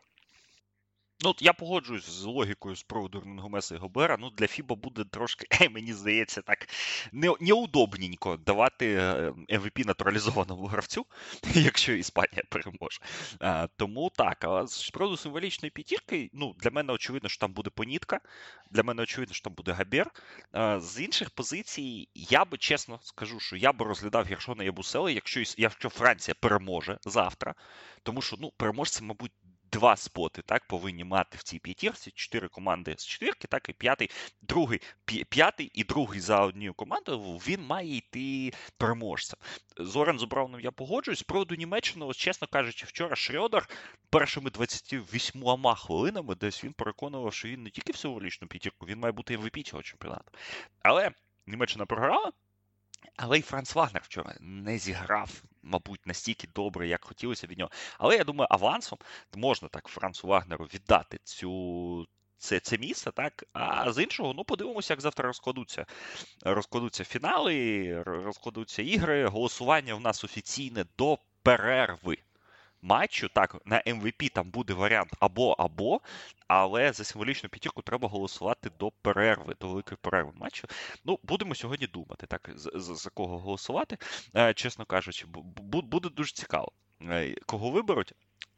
Ну, от я погоджуюсь з логікою з приводу Гомеса і Гобера. Ну, для Фіба буде трошки, мені здається, так не, неудобненько давати ем ві пі натуралізованому гравцю, якщо Іспанія переможе. А, тому так, а з приводу символічної п'ятірки, ну, для мене очевидно, що там буде Понітка, для мене очевидно, що там буде Габер. А, з інших позицій, я би, чесно скажу, що я би розглядав Гершона Ябусели, якщо, якщо Франція переможе завтра, тому що, ну, переможці, мабуть, два споти, так, повинні мати в цій п'ятірці, чотири команди з четвірки, так, і п'ятий, другий, п'ятий і другий за однією командою, він має йти переможцем. З Лорензо Брауном я погоджуюсь. З приводу Німеччини, ось, чесно кажучи, вчора Шрьодер першими двадцятьма вісьмома хвилинами десь він переконував, що він не тільки в символічну п'ятірку, він має бути ем ві пі цього чемпіонату. Але Німеччина програла, але й Франц Вагнер вчора не зіграв, мабуть, настільки добре, як хотілося від нього. Але я думаю, авансом можна так Францу Вагнеру віддати цю, це, це місце, так? А з іншого, ну, подивимося, як завтра розкладуться, розкладуться фінали, розкладуться ігри. Голосування в нас офіційне до перерви матчу. Так, на ем ві пі там буде варіант або-або, але за символічну п'ятірку треба голосувати до перерви, до великої перерви матчу. Ну, будемо сьогодні думати, так, за, за кого голосувати, е, чесно кажучи. Бу, буде дуже цікаво, е, кого виберуть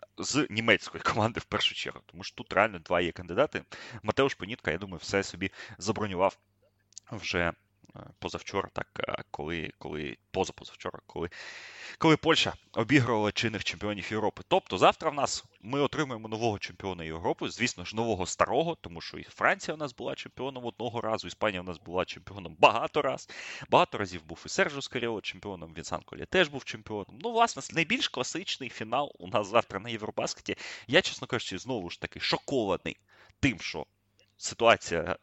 з німецької команди в першу чергу, тому що тут реально два є кандидати. Матеуш Понітка, я думаю, все собі забронював вже позавчора, так, коли, коли позапозавчора, коли, коли Польща обігрувала чинних чемпіонів Європи. Тобто завтра в нас ми отримаємо нового чемпіона Європи, звісно ж, нового старого, тому що і Франція у нас була чемпіоном одного разу, Іспанія у нас була чемпіоном багато раз. Багато разів був і Серджо Скаріо чемпіоном, Вінсан Колє теж був чемпіоном. Ну, власне, найбільш класичний фінал у нас завтра на Євробаскеті. Я, чесно кажучи, знову ж таки шокований тим, що ситуація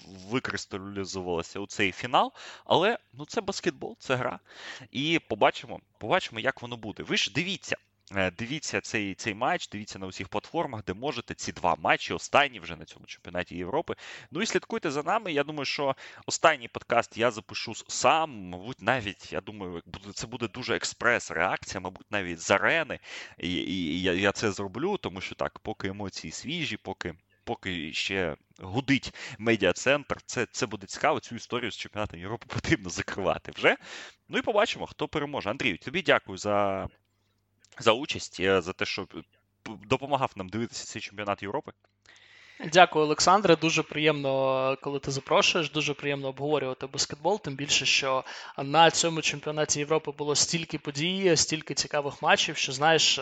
викристалізувалася у цей фінал, але ну це баскетбол, це гра. І побачимо, побачимо, як воно буде. Ви ж дивіться, дивіться цей, цей матч, дивіться на усіх платформах, де можете, ці два матчі, останні вже на цьому чемпіонаті Європи. Ну і слідкуйте за нами. Я думаю, що останній подкаст я запишу сам, мабуть, навіть, я думаю, це буде дуже експрес-реакція, мабуть, навіть з арени. І, і, і я, я це зроблю, тому що так, поки емоції свіжі, поки поки ще гудить медіа-центр, це, це буде цікаво, цю історію з чемпіонатом Європи потрібно закривати вже. Ну і побачимо, хто переможе. Андрію, тобі дякую за, за участь, за те, що допомагав нам дивитися цей чемпіонат Європи. Дякую, Олександре. Дуже приємно, коли ти запрошуєш, дуже приємно обговорювати баскетбол, тим більше, що на цьому чемпіонаті Європи було стільки подій, стільки цікавих матчів, що, знаєш,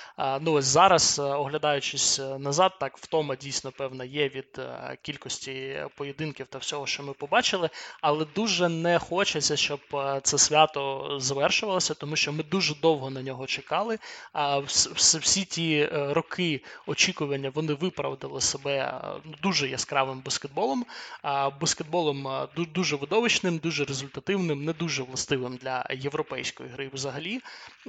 ну ось зараз, оглядаючись назад, так, втома дійсно, певна, є від кількості поєдинків та всього, що ми побачили, але дуже не хочеться, щоб це свято завершувалося, тому що ми дуже довго на нього чекали, а всі ті роки очікування, вони виправдали себе дуже яскравим баскетболом, баскетболом дуже видовищним, дуже результативним, не дуже властивим для європейської гри взагалі,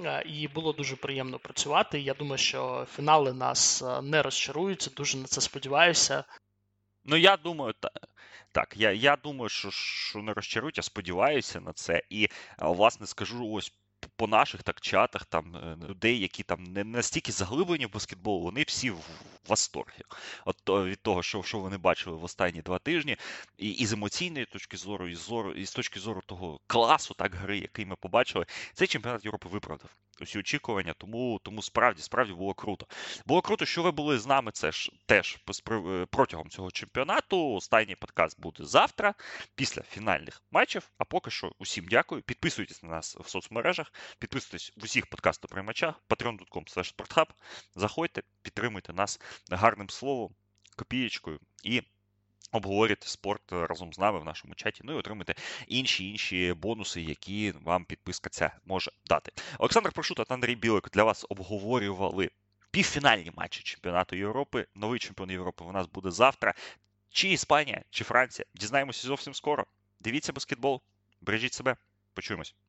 і було дуже приємно працювати. Я думаю, що фінали нас не розчаруються, дуже на це сподіваюся. Ну, я думаю, так. Так, я, я думаю, що, що не розчарують, я сподіваюся на це. І, власне, скажу ось по наших так чатах, там, людей, які там не настільки заглиблені в баскетбол, вони всі в восторгі. От від того, що, що вони бачили в останні два тижні, і, і з емоційної точки зору, і з, зору, і з точки зору того класу, так, гри, який ми побачили, цей чемпіонат Європи виправдав усі очікування, тому, тому справді, справді було круто. Було круто, що ви були з нами це ж, теж протягом цього чемпіонату. Останній подкаст буде завтра, після фінальних матчів. А поки що усім дякую. Підписуйтесь на нас в соцмережах, підписуйтесь в усіх подкастоприймачах, patreon dot com slash sporthub. Заходьте, підтримуйте нас гарним словом, копієчкою і обговорюйте спорт разом з нами в нашому чаті, ну і отримайте інші-інші бонуси, які вам підписка ця може дати. Олександр Прошута та Андрій Білик для вас обговорювали півфінальні матчі чемпіонату Європи. Новий чемпіон Європи у нас буде завтра. Чи Іспанія, чи Франція. Дізнаємося зовсім скоро. Дивіться баскетбол, бережіть себе. Почуємось.